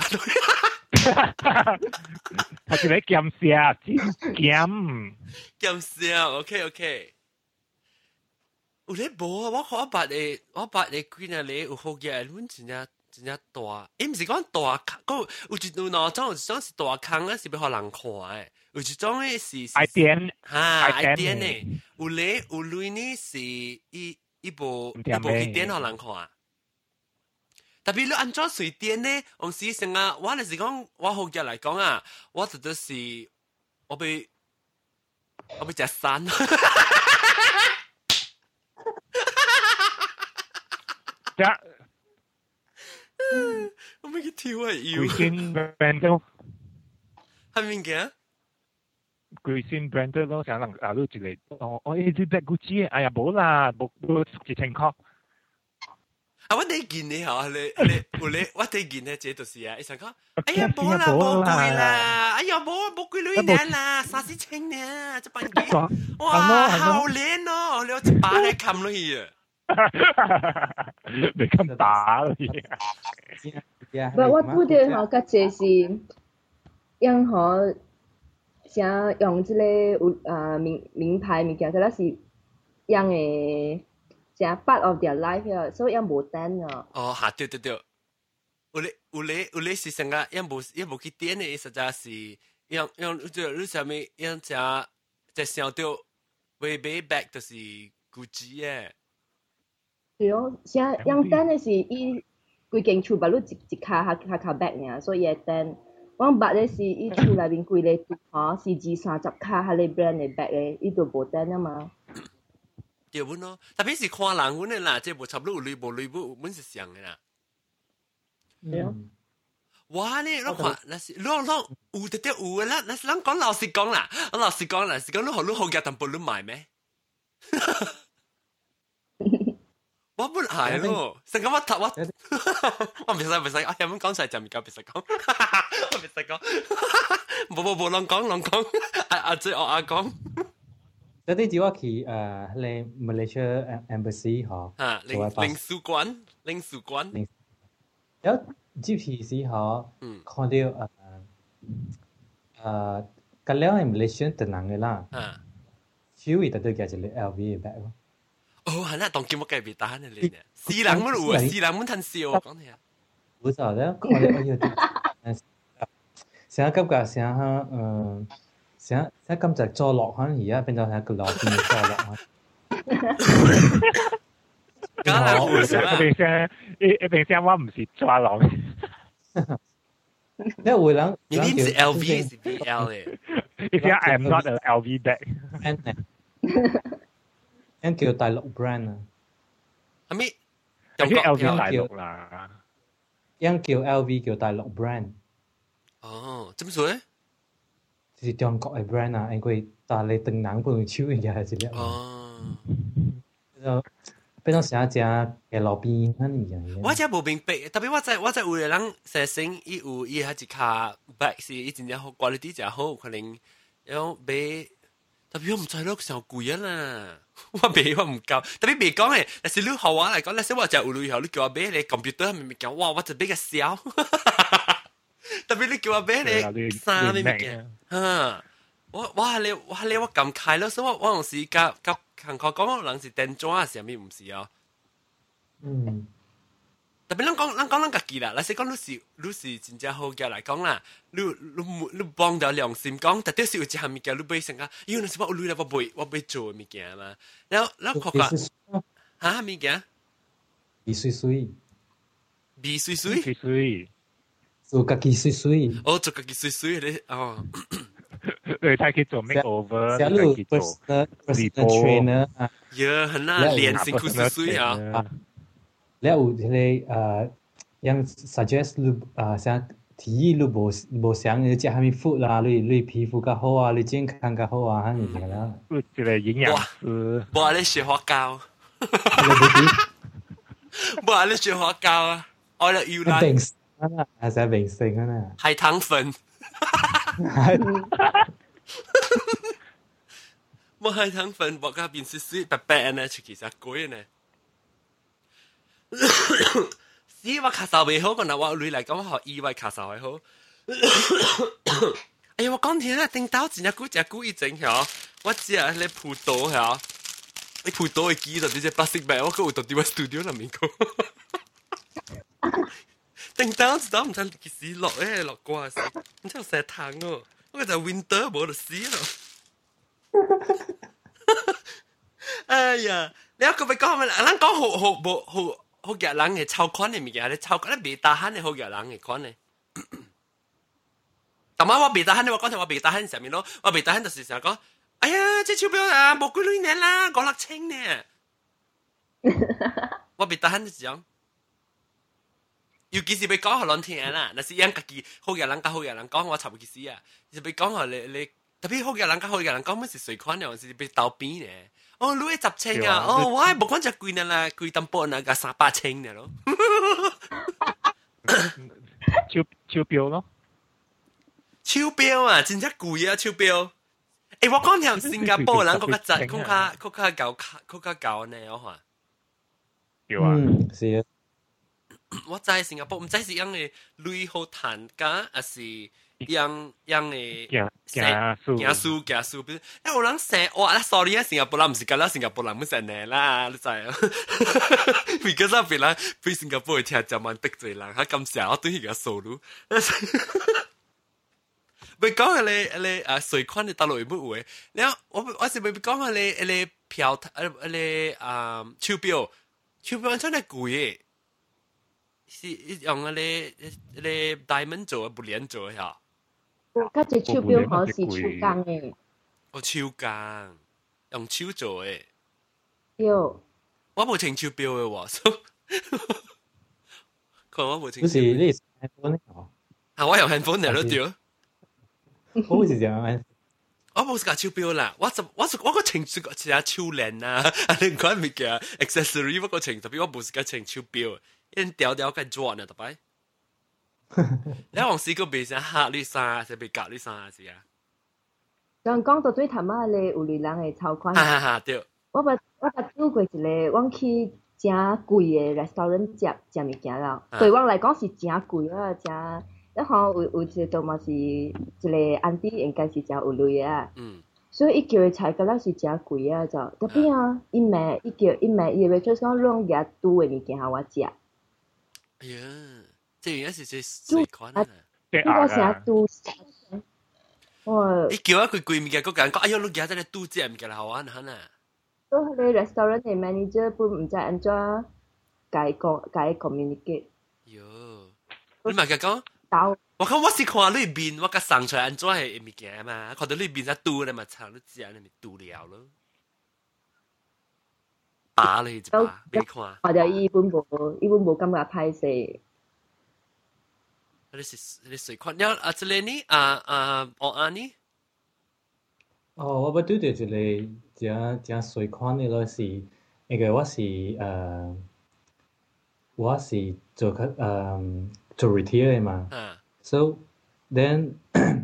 佢係你減少，減減少 ，OK OK。有咧無啊？我看我捌嘅，我捌嘅幾日咧有好嘅，阮真正真正大。誒，唔是講大坑，有一有兩種，有一種是大坑咧，是俾互人看嘅。有一種咧是愛點， 嚇愛點咧，有咧有類呢是一一部一部去點互人看。特別你安怎隨點咧？往時成啊，我係是講我學日嚟講啊，我覺得是我被我被食山。我咪去跳啊！要。 貴先 brand 係咪嘅？ 貴先 brand 咯，成人啊都一個哦，我呢啲 black Gucci，哎呀冇啦，冇冇一千塊。 啊！我第件你嚇，你你有你，我第件咧，這就是啊！伊想講，哎呀冇啦，冇貴啦，哎呀冇冇貴女人啦，三四千呢，這半件，哇，好靚哦！你一把咧冚落去啊！ 你咁打你啊！我我覺得嚇，個這是任何像用即个有呃名名牌物件，即个是样诶，正 part of their life 啊，所以样无等啊。 哦，吓对对对，有咧有咧有咧是成个，因无因无去点诶，实在是样样就你啥物样只只想到way way back 就是 Gucci 诶。 对哦，像样等诶是伊规间厝把你一一卡下下卡 bag 尔，所以会等。我捌咧是伊厝内面规个吼是二三十卡下咧 brand 诶 bag 诶，伊就无等啊嘛。 对阮咯，特別是看人阮誒啦，即係無差不多有類無類不，阮是像嘅啦。 對啊。 哇！你你看，那是你你有得得有嘅啦，那是咱講老實講啦，我老實講啦，是講你學你學嘅淡薄你買咩？我本係咯，成咁我頭我我唔使唔使，我有冇講出嚟就唔夠，唔使講，我唔使講，冇冇冇，亂講亂講，阿阿最我阿講。 嗰啲只話去誒，嚟 Malaysia Embassy 嗬， 啊，領領事館，領事館， 有朝時時嗬，看到誒誒，咁了係 Malaysia 特能嘅啦，啊，主要特對嘅就係 L V 嘅 bag 咯。 哦，係啦，當見我計別打呢嚟呢，四人乜有啊，四人乜吞笑講你啊， 冇錯咧，看到哎呀，成日急㗎，成日誒。成成今就坐落可能而家變咗係個落變咗坐落啊！ 梗係會一定聲，一一定聲我唔是坐落。 因為會諗， 你唔是 L V 是 B L 嘅。 你聲 I am not an L V bag。 因叫大陸 brand 啊。 係咪？ 有 L V 大陸啦。 因叫 L V 叫大陸 brand。 哦，點解？ 是中國嘅 brand 啊，因為但係từng能半超嘅嘢係之類。 哦， 就變咗成日只嘅路邊嗰啲嘢。 我真係冇明白，特別我在我在有個人寫成伊有伊係一卡 bag 是伊真正好 quality 真好，可能有買，特別我唔知咯，上貴啊啦，我買我唔夠，特別未講嘅，但是你學我嚟講，那時我就有旅遊，你叫我買你 computer 咪咪講，哇，我就比較少。特別你叫我買你衫咩物件，嚇！我我係你我係你我咁開咯，所以我我有時甲甲同學講，我人是電裝啊，是咪唔是哦？ 嗯。 特別咱講咱講咱家己啦，嗱，是講你是你是真正好嘅嚟講啦，你你你幫到良心講，特別是有一項物件你買成個，因為你是我有累啦，我買我買做物件嘛，然後然後學個嚇物件？ 味水水。 味水水。 水水。 做家己水水， 哦，做家己水水咧，哦， 對，他可以做 makeover， 他可以做 personal trainer 啊， 呀，很啦，練成佢水水啊， แล้ว有迄個呃，樣 suggest 你啊，想提議你無無想你食蝦米 food 啦，你你皮膚較好啊，你健康較好啊，咁樣啦。 一個營養師， 冇你雪花膠，冇你雪花膠啊，我嚟要啦。 啊，係使明星啊啦， 係糖粉，冇係糖粉，我家邊是水白白呢，其實貴呢。是我卡數未好，個嗱我女嚟講學意外卡數係好。哎呀，我講聽啦，頂到真係古真古一整嚇，我只係你葡萄嚇，你葡萄嘅機就啲隻 plastic bag，我嗰度到啲 studio 入面個。頂到就唔知幾時落誒落過時，唔知有成糖哦，我就 winter 冇就死咯。哎呀，你一個咪講咪，咱講好好冇好好嘅人嘅超款嘅物件，你超款你未打慳嘅好嘅人嘅款嘅。但係我未打慳，我講聽我未打慳上面咯，我未打慳就是成日講，哎呀，這鈔票啊冇幾多年啦，五六千呢。我未打慳就講。尤其是要講互人聽啦，那是因家己好嘅人甲好嘅人講，我差唔多死啊！是要講互你你特別好嘅人甲好嘅人講，乜是隨款嘅，是要鬥邊嘅。哦，你十千啊！哦，我係無講只貴呢啦，貴淡薄那個三百千嘅咯。 超超標咯， 超標啊！真正貴啊！超標。誒，我講聽新加坡人嗰個質，嗰個嗰個舊嗰個舊呢，我話。 有啊， 是啊。 我知新加坡唔知是樣嘅鐳好彈㗎，還是樣樣嘅行數行數行數，比如誒有人寫哇，sorry 啊，新加坡人唔是咁啦，新加坡人唔成呢啦，你知啊？vì cái sao vì là vì新加坡嘅聽就蠻得罪人，佢咁成日我對佢嘅數路。咪講下你你啊水款你大陸有冇會？你我我是咪講下你你票誒你啊鈔票鈔票真係貴嘅。是用你你 diamond 做啊，不連做呀？ 嗰隻手錶好似手工嘅。 哦，手工用手做嘅。 對。 我冇穿手錶嘅喎，可能我冇穿。 不是你是 iPhone 哦？ 啊，我用 handphone 嚟咯，對。 我是這樣。 我冇架手錶啦，我就我就我個穿住個隻手鏈啊，啊另外物件 accessory 我個穿，特別我冇是架穿手錶。因條條嘅轉啊，特別。你往時個被成嚇你衫，成被夾你衫是啊。 咁講到最頭尾咧，有類人嘅超款。 哈哈哈，對。 我捌我捌做過一個，我去真貴嘅 restaurant 食食物件啦。對我來講是真貴啊，真。一項有有一個度嘛是一個 auntie 應該是真有類啊。嗯。所以伊叫嘅菜，嗰粒是真貴啊，就特別啊，伊賣伊叫伊賣伊嘅 waitress 講攞嘢煮嘅物件互我食。 哎呀，這應該是最最款啊！ 呢個成日都， 我你叫佢貴物件，嗰間講，哎呀，你而家在嚟賭這物件好玩嚇呢？ 都係你 restaurant 嘅 manager 本唔知安怎解講解 communicate。 喲，你咪講，我講我是看裏面，我甲送出來安怎係物件嘛，看到裏面在賭你嘛，炒你知啊，你咪賭了咯。打你一把，你看。 我就伊本無，伊本無感覺歹勢。 你是你水款了啊？這裡呢？啊啊，我安呢？ 哦，我不對對，這裡正正水款的咯是，那個我是誒，我是做個誒做 retail 的嘛。嗯。So then，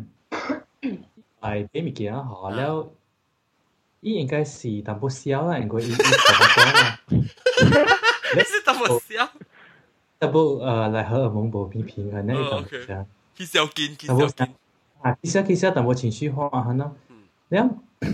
係俾物件好了。伊應該是淡薄少啦，因為伊伊同我講啦。 你是淡薄少？ 淡薄誒，嚟荷爾蒙無平平衡咧，淡薄少。 佢少見，佢少見。 啊，其實其實淡薄情緒化係咯。แล้ว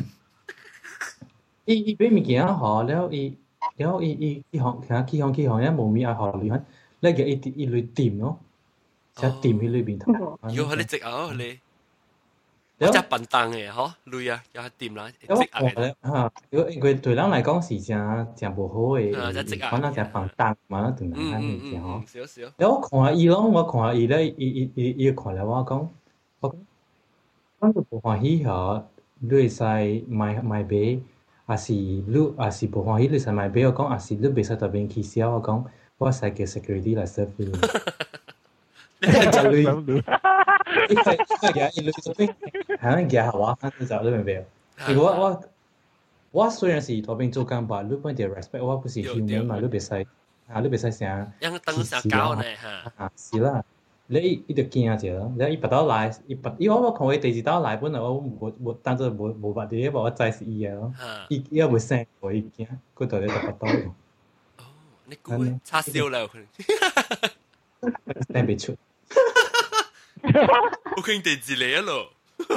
伊伊俾物件好，แล้ว伊แล้ว伊伊伊行其實起行起行咧冇咪愛好裏邊，咧個伊伊類掂咯，就掂喺裏邊頭。 要佢哋直啊，你。即係笨蛋嘅嗬，累啊，又係掂啦，積壓嘅。 嚇，如果佢對人嚟講是正正無好嘅，可能就笨蛋嘛，對人嚟講是嗬。 少少。 แล้ว我看下伊咯，我看下伊咧，伊伊伊伊看了我講，我講，我都無歡喜嗬，你會使買買買，還是你還是無歡喜你使買買，我講還是你袂使特別起笑，我講我使叫 security 來 serve 你。就你，因為因為而家你做邊，係咪而家係話翻就你明唔明？如果我我雖然是嗰邊做工吧，你本地 respect 我不是 human 嘛，你別使啊，你別使成， 因等成搞呢嚇。 啊，是啦，你伊就驚者咯，你伊拔刀來，伊拔，伊我我看佢第二刀來，本來我冇冇當做冇冇拔啲，我知是伊嘅咯，伊伊會聲我伊驚，佢到你就拔刀。 哦，你估叉燒啦佢。 聽唔出。 我傾地字嚟啊咯，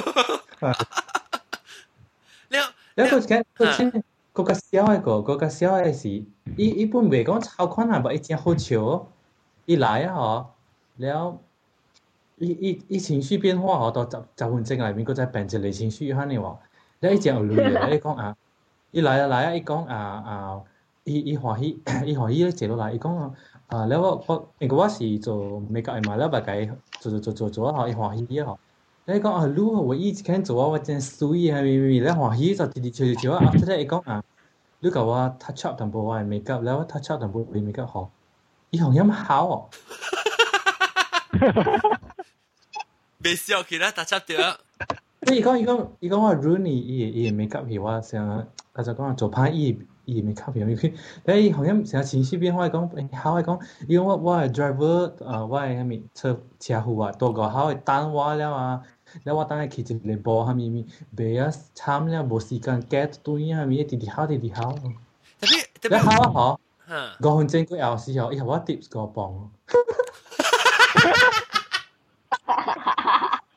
你你個嘅個先嗰個小嘅個嗰個小嘅是，伊伊本袂講超款啊，不伊真好笑，伊來啊嗬，แล้ว伊伊伊情緒變化好多十十分鐘內面，佢再變一個情緒嚇你話，你一隻有類嘅，伊講啊，伊來啊來啊，伊講啊啊，伊伊歡喜伊歡喜咧坐落來，伊講啊。啊，แล้ว我我因為我是做美甲嘅嘛，แล้ว大概做做做做做啊，伊歡喜啊，แล้ว講啊，你我以前做啊，我真水啊，咪咪，แล้ว歡喜就直直做做做啊 ，after that 伊講啊，你教我 touch up 淡薄我嘅美甲，แล้ว touch up 淡薄佢美甲好，伊好音好哦， 未笑佢啦 touch up 掉， 伊講伊講伊講我 Rooney 伊伊美甲係我成，佢就講做派伊。伊咪吸片，佢，但係好像成日情緒變化講，好講，因為我我係 driver，啊，我係咪車車夫啊，多個好係等我了啊，แล้ว我等下騎一個波，係咪咪，別啊慘了，冇時間 get 對啊，咪一啲啲好，啲啲好。 特別特別好啊，嗬，五分鐘過後時候，以後我 tips 個磅。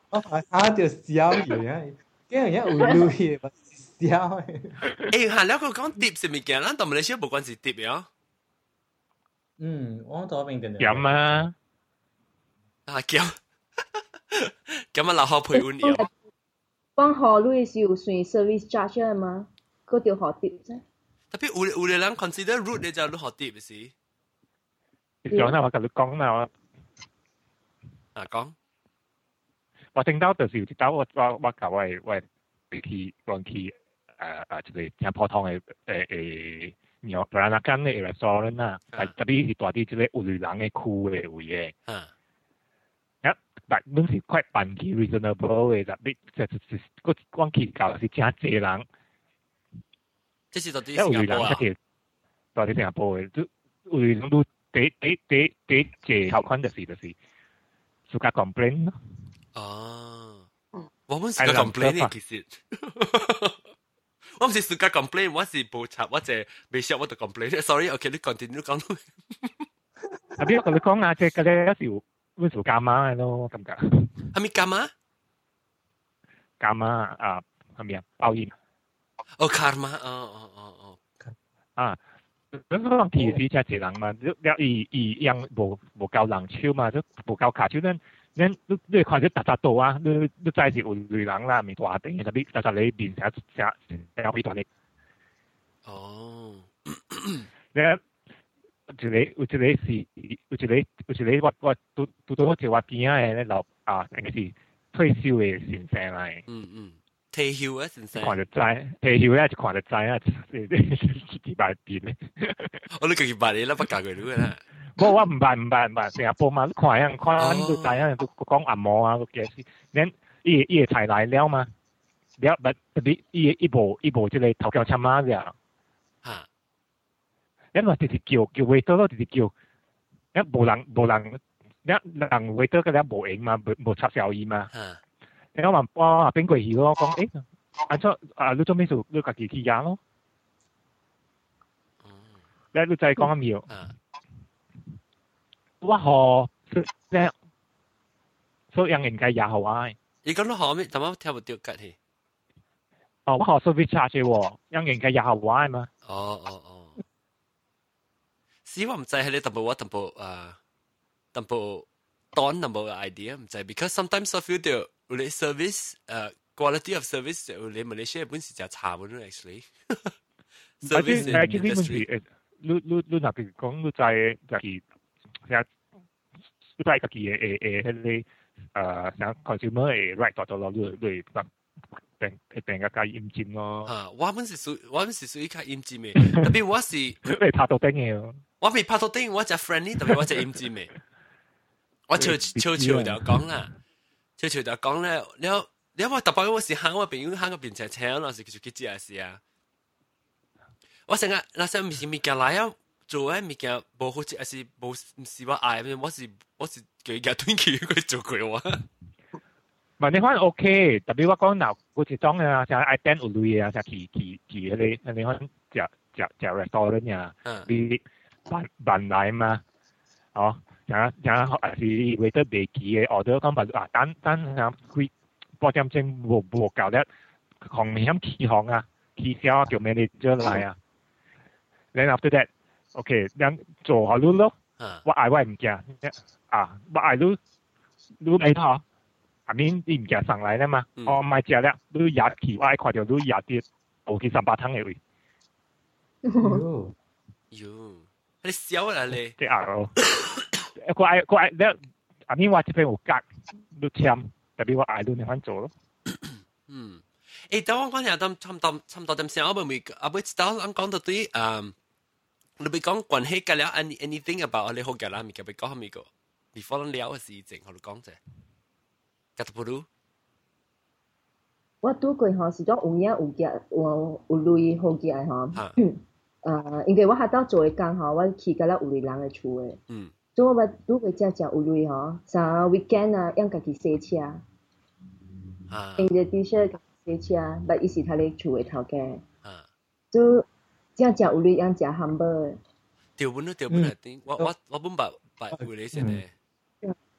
哦，啊條笑嘢，驚人一會累嘅，笑。 誒，係兩個講碟是物件，咱同馬來西亞無關係碟嘅。 嗯，我嗰邊嘅。 飲啊！ 啊叫，咁啊，留學陪換嘢。 講學累是有算 service charge 嘛？嗰條學碟啫。 特別有有啲人 consider root 你就都學碟嘅事。 你講啦，我同你講啦，我啊講。 我聽到就是聽到我我我教我我去講去誒誒一個正普通嘅誒誒鳥布蘭納間嘅 restaurant 啦，係特別是大啲即個有類人嘅區嘅位嘅。啊，一但都是快半期 reasonable 嘅，特別就就是個講去教是真濟人。 即是到底新加坡啊？到底新加坡嘅都有類人都第第第第濟條款就是就是自家 complain 咯。 哦，我唔是個 complain 其實，我唔是自家 complain， 我是報插，我淨係未識我就 complain。Sorry，OK， 你 continue 講。 特別我同你講啊，即係嗰啲有時會做加碼嘅咯，感覺。 係咪加碼？ 加碼啊，係咪啊？包煙。 哦，加碼，哦哦哦哦。 啊，咁講其實真係人嘛，你你伊樣無無夠人手嘛，就無夠卡手，咱咱你你看啲特特度啊，你你真係是有類人啦，咪大頂嘅，特別特特你面成成成幾大力。 哦。 你有一個有一個是有一個有一個我我拄拄到我一我邊仔嘅老啊，應該是退休嘅先生嚟。 嗯嗯。退休啊，先生。 看就知，退休咧就看就知啊，幾百變咧。 我你幾百年啦，不教佢哋啦。 冇，我唔係唔係唔係，新加坡嘛，你看樣看你都知啊，都講按摩啊，個嘅事。恁伊伊個菜來了嘛，了不特別伊伊無伊無即個頭腳參啊了。 嚇！ 因為直直叫叫 waiter 咯，直直叫，一無人無人，一人 waiter 嗰啲無影嘛，無無插小耳嘛。 嚇！ 你講話哇邊個去咯？講誒，按出啊你做咩做？你家己去呀咯？你你再講一秒。我學咧，所以人應該也好啊。 你講到後面，點解聽唔到吉氣？ 哦，我學 service charge 喎，人應該也好啊嘛。 哦哦哦。是我唔知係你淡薄我淡薄啊，淡薄當淡薄嘅 idea 唔知 ，because sometimes I feel the 你 service 誒 quality of service 你 Malaysia 本時就差唔多 actually。 service industry 你你你嗱譬如講你在就係成你在家己嘅誒誒迄個誒想 consumer 嘅 right 度度咯，你你得定定個加驗證咯。 啊，我本是屬我本是屬於較驗證嘅，特別我是你拍到頂嘅。 我未拍到頂，我只 friendly， 特別我只驗證嘅。我悄悄悄就講啦，悄悄就講咧，你你話特別我是行我朋友行個邊隻車咯，是叫做幾隻事啊。我成日那時唔是物件來啊，做誒物件無好似還是無唔是我愛，我是我是叫伊短期佢做過我。 唔係你可能 OK，特別我講嗱，嗰隻裝啊，像 I ten 有類啊，像奇奇奇嗰啲，你可能食食食 restaurant 啊，你辦辦來嘛，哦，像像還是 waiter 未記嘅 order 講辦啊，等等啊，佢保證證無無夠咧，行險起行啊，起銷叫 manager 來啊，然後 after that，OK， 咁做好luôn咯，我愛我唔驚，啊，我愛你你嚟睇。I mean 你唔夾上來咧嘛？我唔係食咧，你廿期我愛看到你廿啲後期三百湯嘅位。 喲，喲，你笑啦你。 即係咯，我愛我愛咧，I mean 我這邊有格，你簽，特別我愛你你肯做咯。 嗯，誒，等我講下，咁差唔多差唔多點先，我咪阿妹知道我講到對，嗯，你咪講關係嘅了，any anything about 你好嘅啦，咪嘅咪講下咪個，before 你聊嘅事情，我哋講啫。 我拄過吼是種有影有夾有有類好夾吼，呃，因為我喺度做嘅工吼，我去到了有類人嘅厝嘅，嗯，所以我拄過只只有類吼，啥 weekend 啊，用家己洗車，啊，用隻 T-shirt 洗車，但伊是佢哋厝嘅頭家，啊，就只只有類用只 humble 嘅， 調本都調本係點？我我我本白白會你先咧。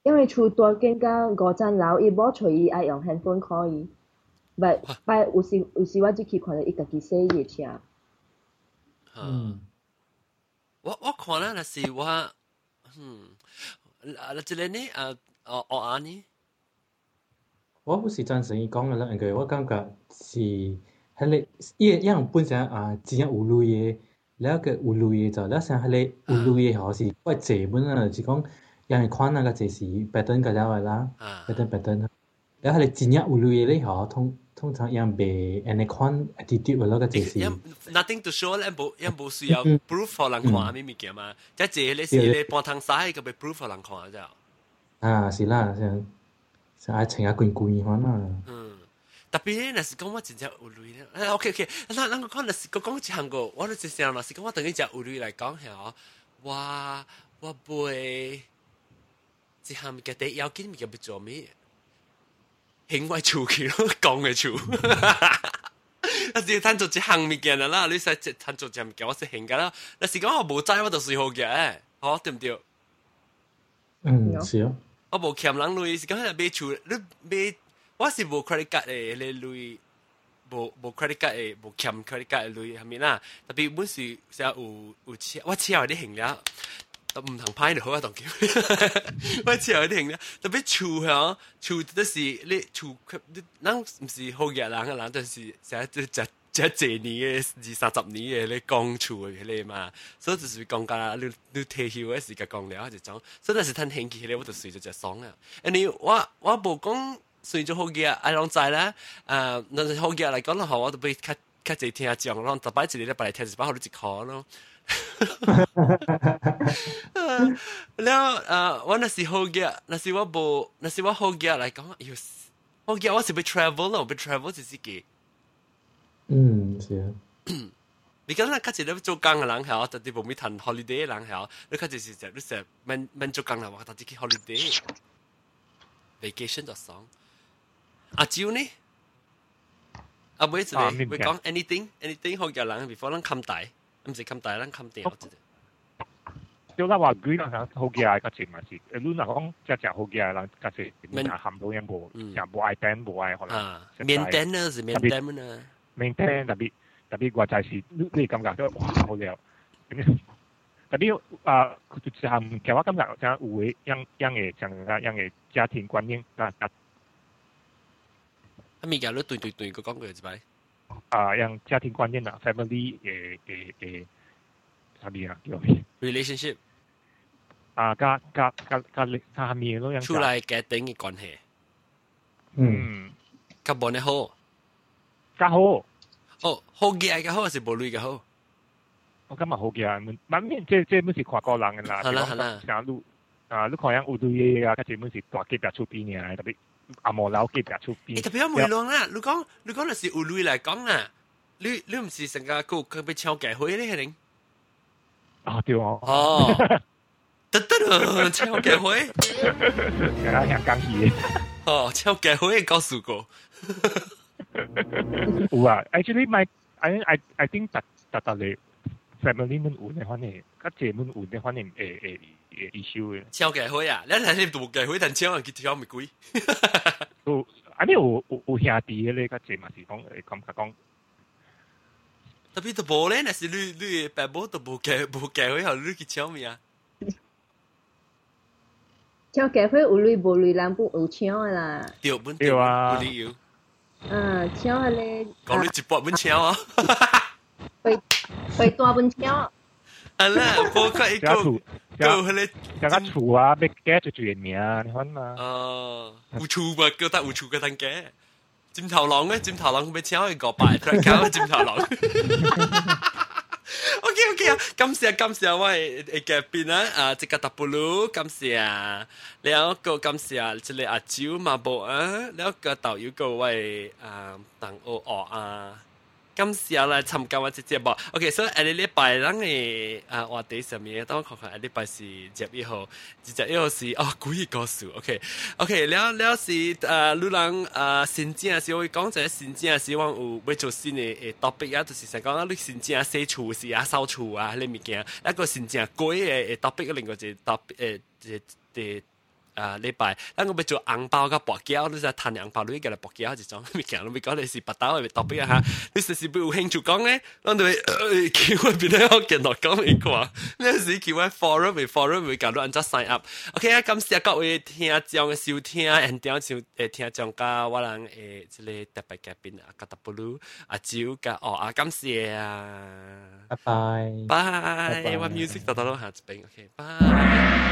因為厝大間甲五層樓，伊冇隨意愛用 handphone call 伊，唔拜有時有時我只去看到伊家己洗伊個車。 嗯，我我看啦，那是我，嗯，啊，那這個呢，啊，哦哦安呢？ 我不是贊成伊講嘅啦，因為我感覺是迄個伊伊樣本身啊，真有類嘅，แล้ว個有類嘅就แล้ว像迄個有類嘅吼是怪濟本啊，就是講樣款那個濟是 pattern 個了嘅啦 ，pattern pattern，แล้ว迄個真有類嘅咧吼，通通常樣袂安尼款 attitude 嘅咯個濟是。 nothing to show 咧，冇樣冇需要 proof 互人看咩物件嘛，即係咧是咧半通曬個被 proof 互人看啫。 啊，是啦，像。就愛穿下貴貴款啊。 嗯，特別咧，若是講我真正有類咧，誒 ，OK OK，嗱，咱個講若是個講一項個，我都真正若是講我等於只有類來講嚇，我我背一項物件第要緊物件要做咩？行外處去咯，講嘅處。但是攤做一項物件啦，你使攤做一物件，我是行噶啦。若是講我無知，我就隨好嘅，好對唔對？ 嗯，是啊。 我無欠人類，是講係買厝，你買我是無 credit card 嘅，你類無無 credit card 嘅，無欠 credit card 嘅類係咪啦？特別本是成日有有車，我車有啲行了，都唔同派就好啊，當叫我車有啲行了，特別厝嚇，厝都是你厝，咱唔是好嘅人嘅人，但是成日都只只幾年嘅二三十年嘅你講厝嘅你嘛，所以就是講㗎，你你退休嘅時間講了就種，所以那是趁興起咧，我就隨咗隻爽啊！誒你我我無講隨咗好嘅，愛啷知啦？誒，那是好嘅嚟講咯，我都俾較較濟聽講咯，特擺一日咧，擺嚟聽一擺好你一箍咯。แล้วเอ่อว่าน่ะสิโฮเกียน่ะสิว่าบ่น่ะสิว่าโฮเกีย嚟講要โฮเกียว่าสิไป travel 咯，ไป travel 就是嘅。 嗯，是啊。 你講啦，較濟你做工嘅人係，特別無咪談 holiday 嘅人係，你較濟是就你成免免做工啦，話特別去 holiday，vacation 就爽。阿蕉呢？阿妹子你會講 anything anything 好嘅人 before 咱冚大，唔是冚大，咱冚掉。 就咱話舉人好嘅係較濟嘛是，誒你若講只只好嘅人較濟，你若含到樣無，就無愛變無愛可能。 maintenance 是 maintenance 啊。 maintain 特別特別話就係你你感覺都哇好了，特別啊，就係其實我感覺就係有嘅樣樣嘅像個樣嘅家庭觀念啊啊， 啊咪講你對對對個講句一擺啊，樣家庭觀念啊 ，family 嘅嘅嘅啥物啊叫咩 relationship 啊，加加加加加下面咯樣出來家庭嘅關係， 嗯， 較冇呢好。 較好， 哦，好嘅較好，是無類嘅好。 我感覺好嘅，萬面即即本是看個人嘅啦。 係啦係啦。 像你啊，你看樣有類嘅啊，佢本是大級別出邊嘅，特別阿毛老級別出邊。 特別有梅浪啦，你講你講係有類嚟講啦，你你唔是成個個佢被搶計會咧，係零？ 啊對哦。 哦，得得咯，搶計會。 係啊，香港戲。 哦，搶計會告訴過。 有啊 ，actually my I I I think 特特特你 family 們有呢款嘅，較濟們有呢款嘅誒誒誒 issue 嘅。 超計會啊！你係你做計會，但超人佢跳咪貴。 有，啊你有有有兄弟嘅咧，較濟嘛是講誒感覺講。 特別都無咧，那是你你爸母都無計無計會，後你去超咪啊？ 超計會有類無類人不有超啦。 對，本對啊。 有理由。 啊，超咧， 講你一百蚊超啊！ 會會大本超。 啊啦，包括一個個迄個， 加個厝啊，要加就住名，你看嘛。 哦，有厝嘛，叫得有厝個通加。尖頭狼咧，尖頭狼佢俾超去個拜，再搞尖頭狼。OK OK 啊，感謝感謝我嘅嘅邊啊，啊，即個達布魯，感謝啊，แล้วก็感謝即係阿蕉嘛寶啊，แล้วก็導遊個位啊，鄧奧奧啊，感謝來參加我這節目。OK，所以下個禮拜咱嘅啊話題上面，等我看看下禮拜是十一號，十一號是哦古語故事。OK OK，แล้วแล้ว是啊，女人啊，新正是我講就係新正是我有要做新嘅誒 topic 啊，就是成講你新正洗厝是啊，掃厝啊，呢物件，一個新正改嘅誒 topic，另外一個 topic 誒誒誒啊禮拜，咱我要做紅包甲薄膠，你就攤紅包，你叫嚟薄膠一種，咪講你咪講你是白刀，咪特別嚇，你實是不有興趣講咧，咱就叫我邊咧我見到講一個，你是叫我 forum 咪 forum 咪搞到按照 sign up，OK 啊，感謝各位聽眾嘅收聽，and 點像誒聽眾甲我人誒即個特別嘉賓啊，甲特布魯阿蕉甲哦啊，感謝啊， 拜拜， 拜，我 music 到到下一邊 ，OK，拜。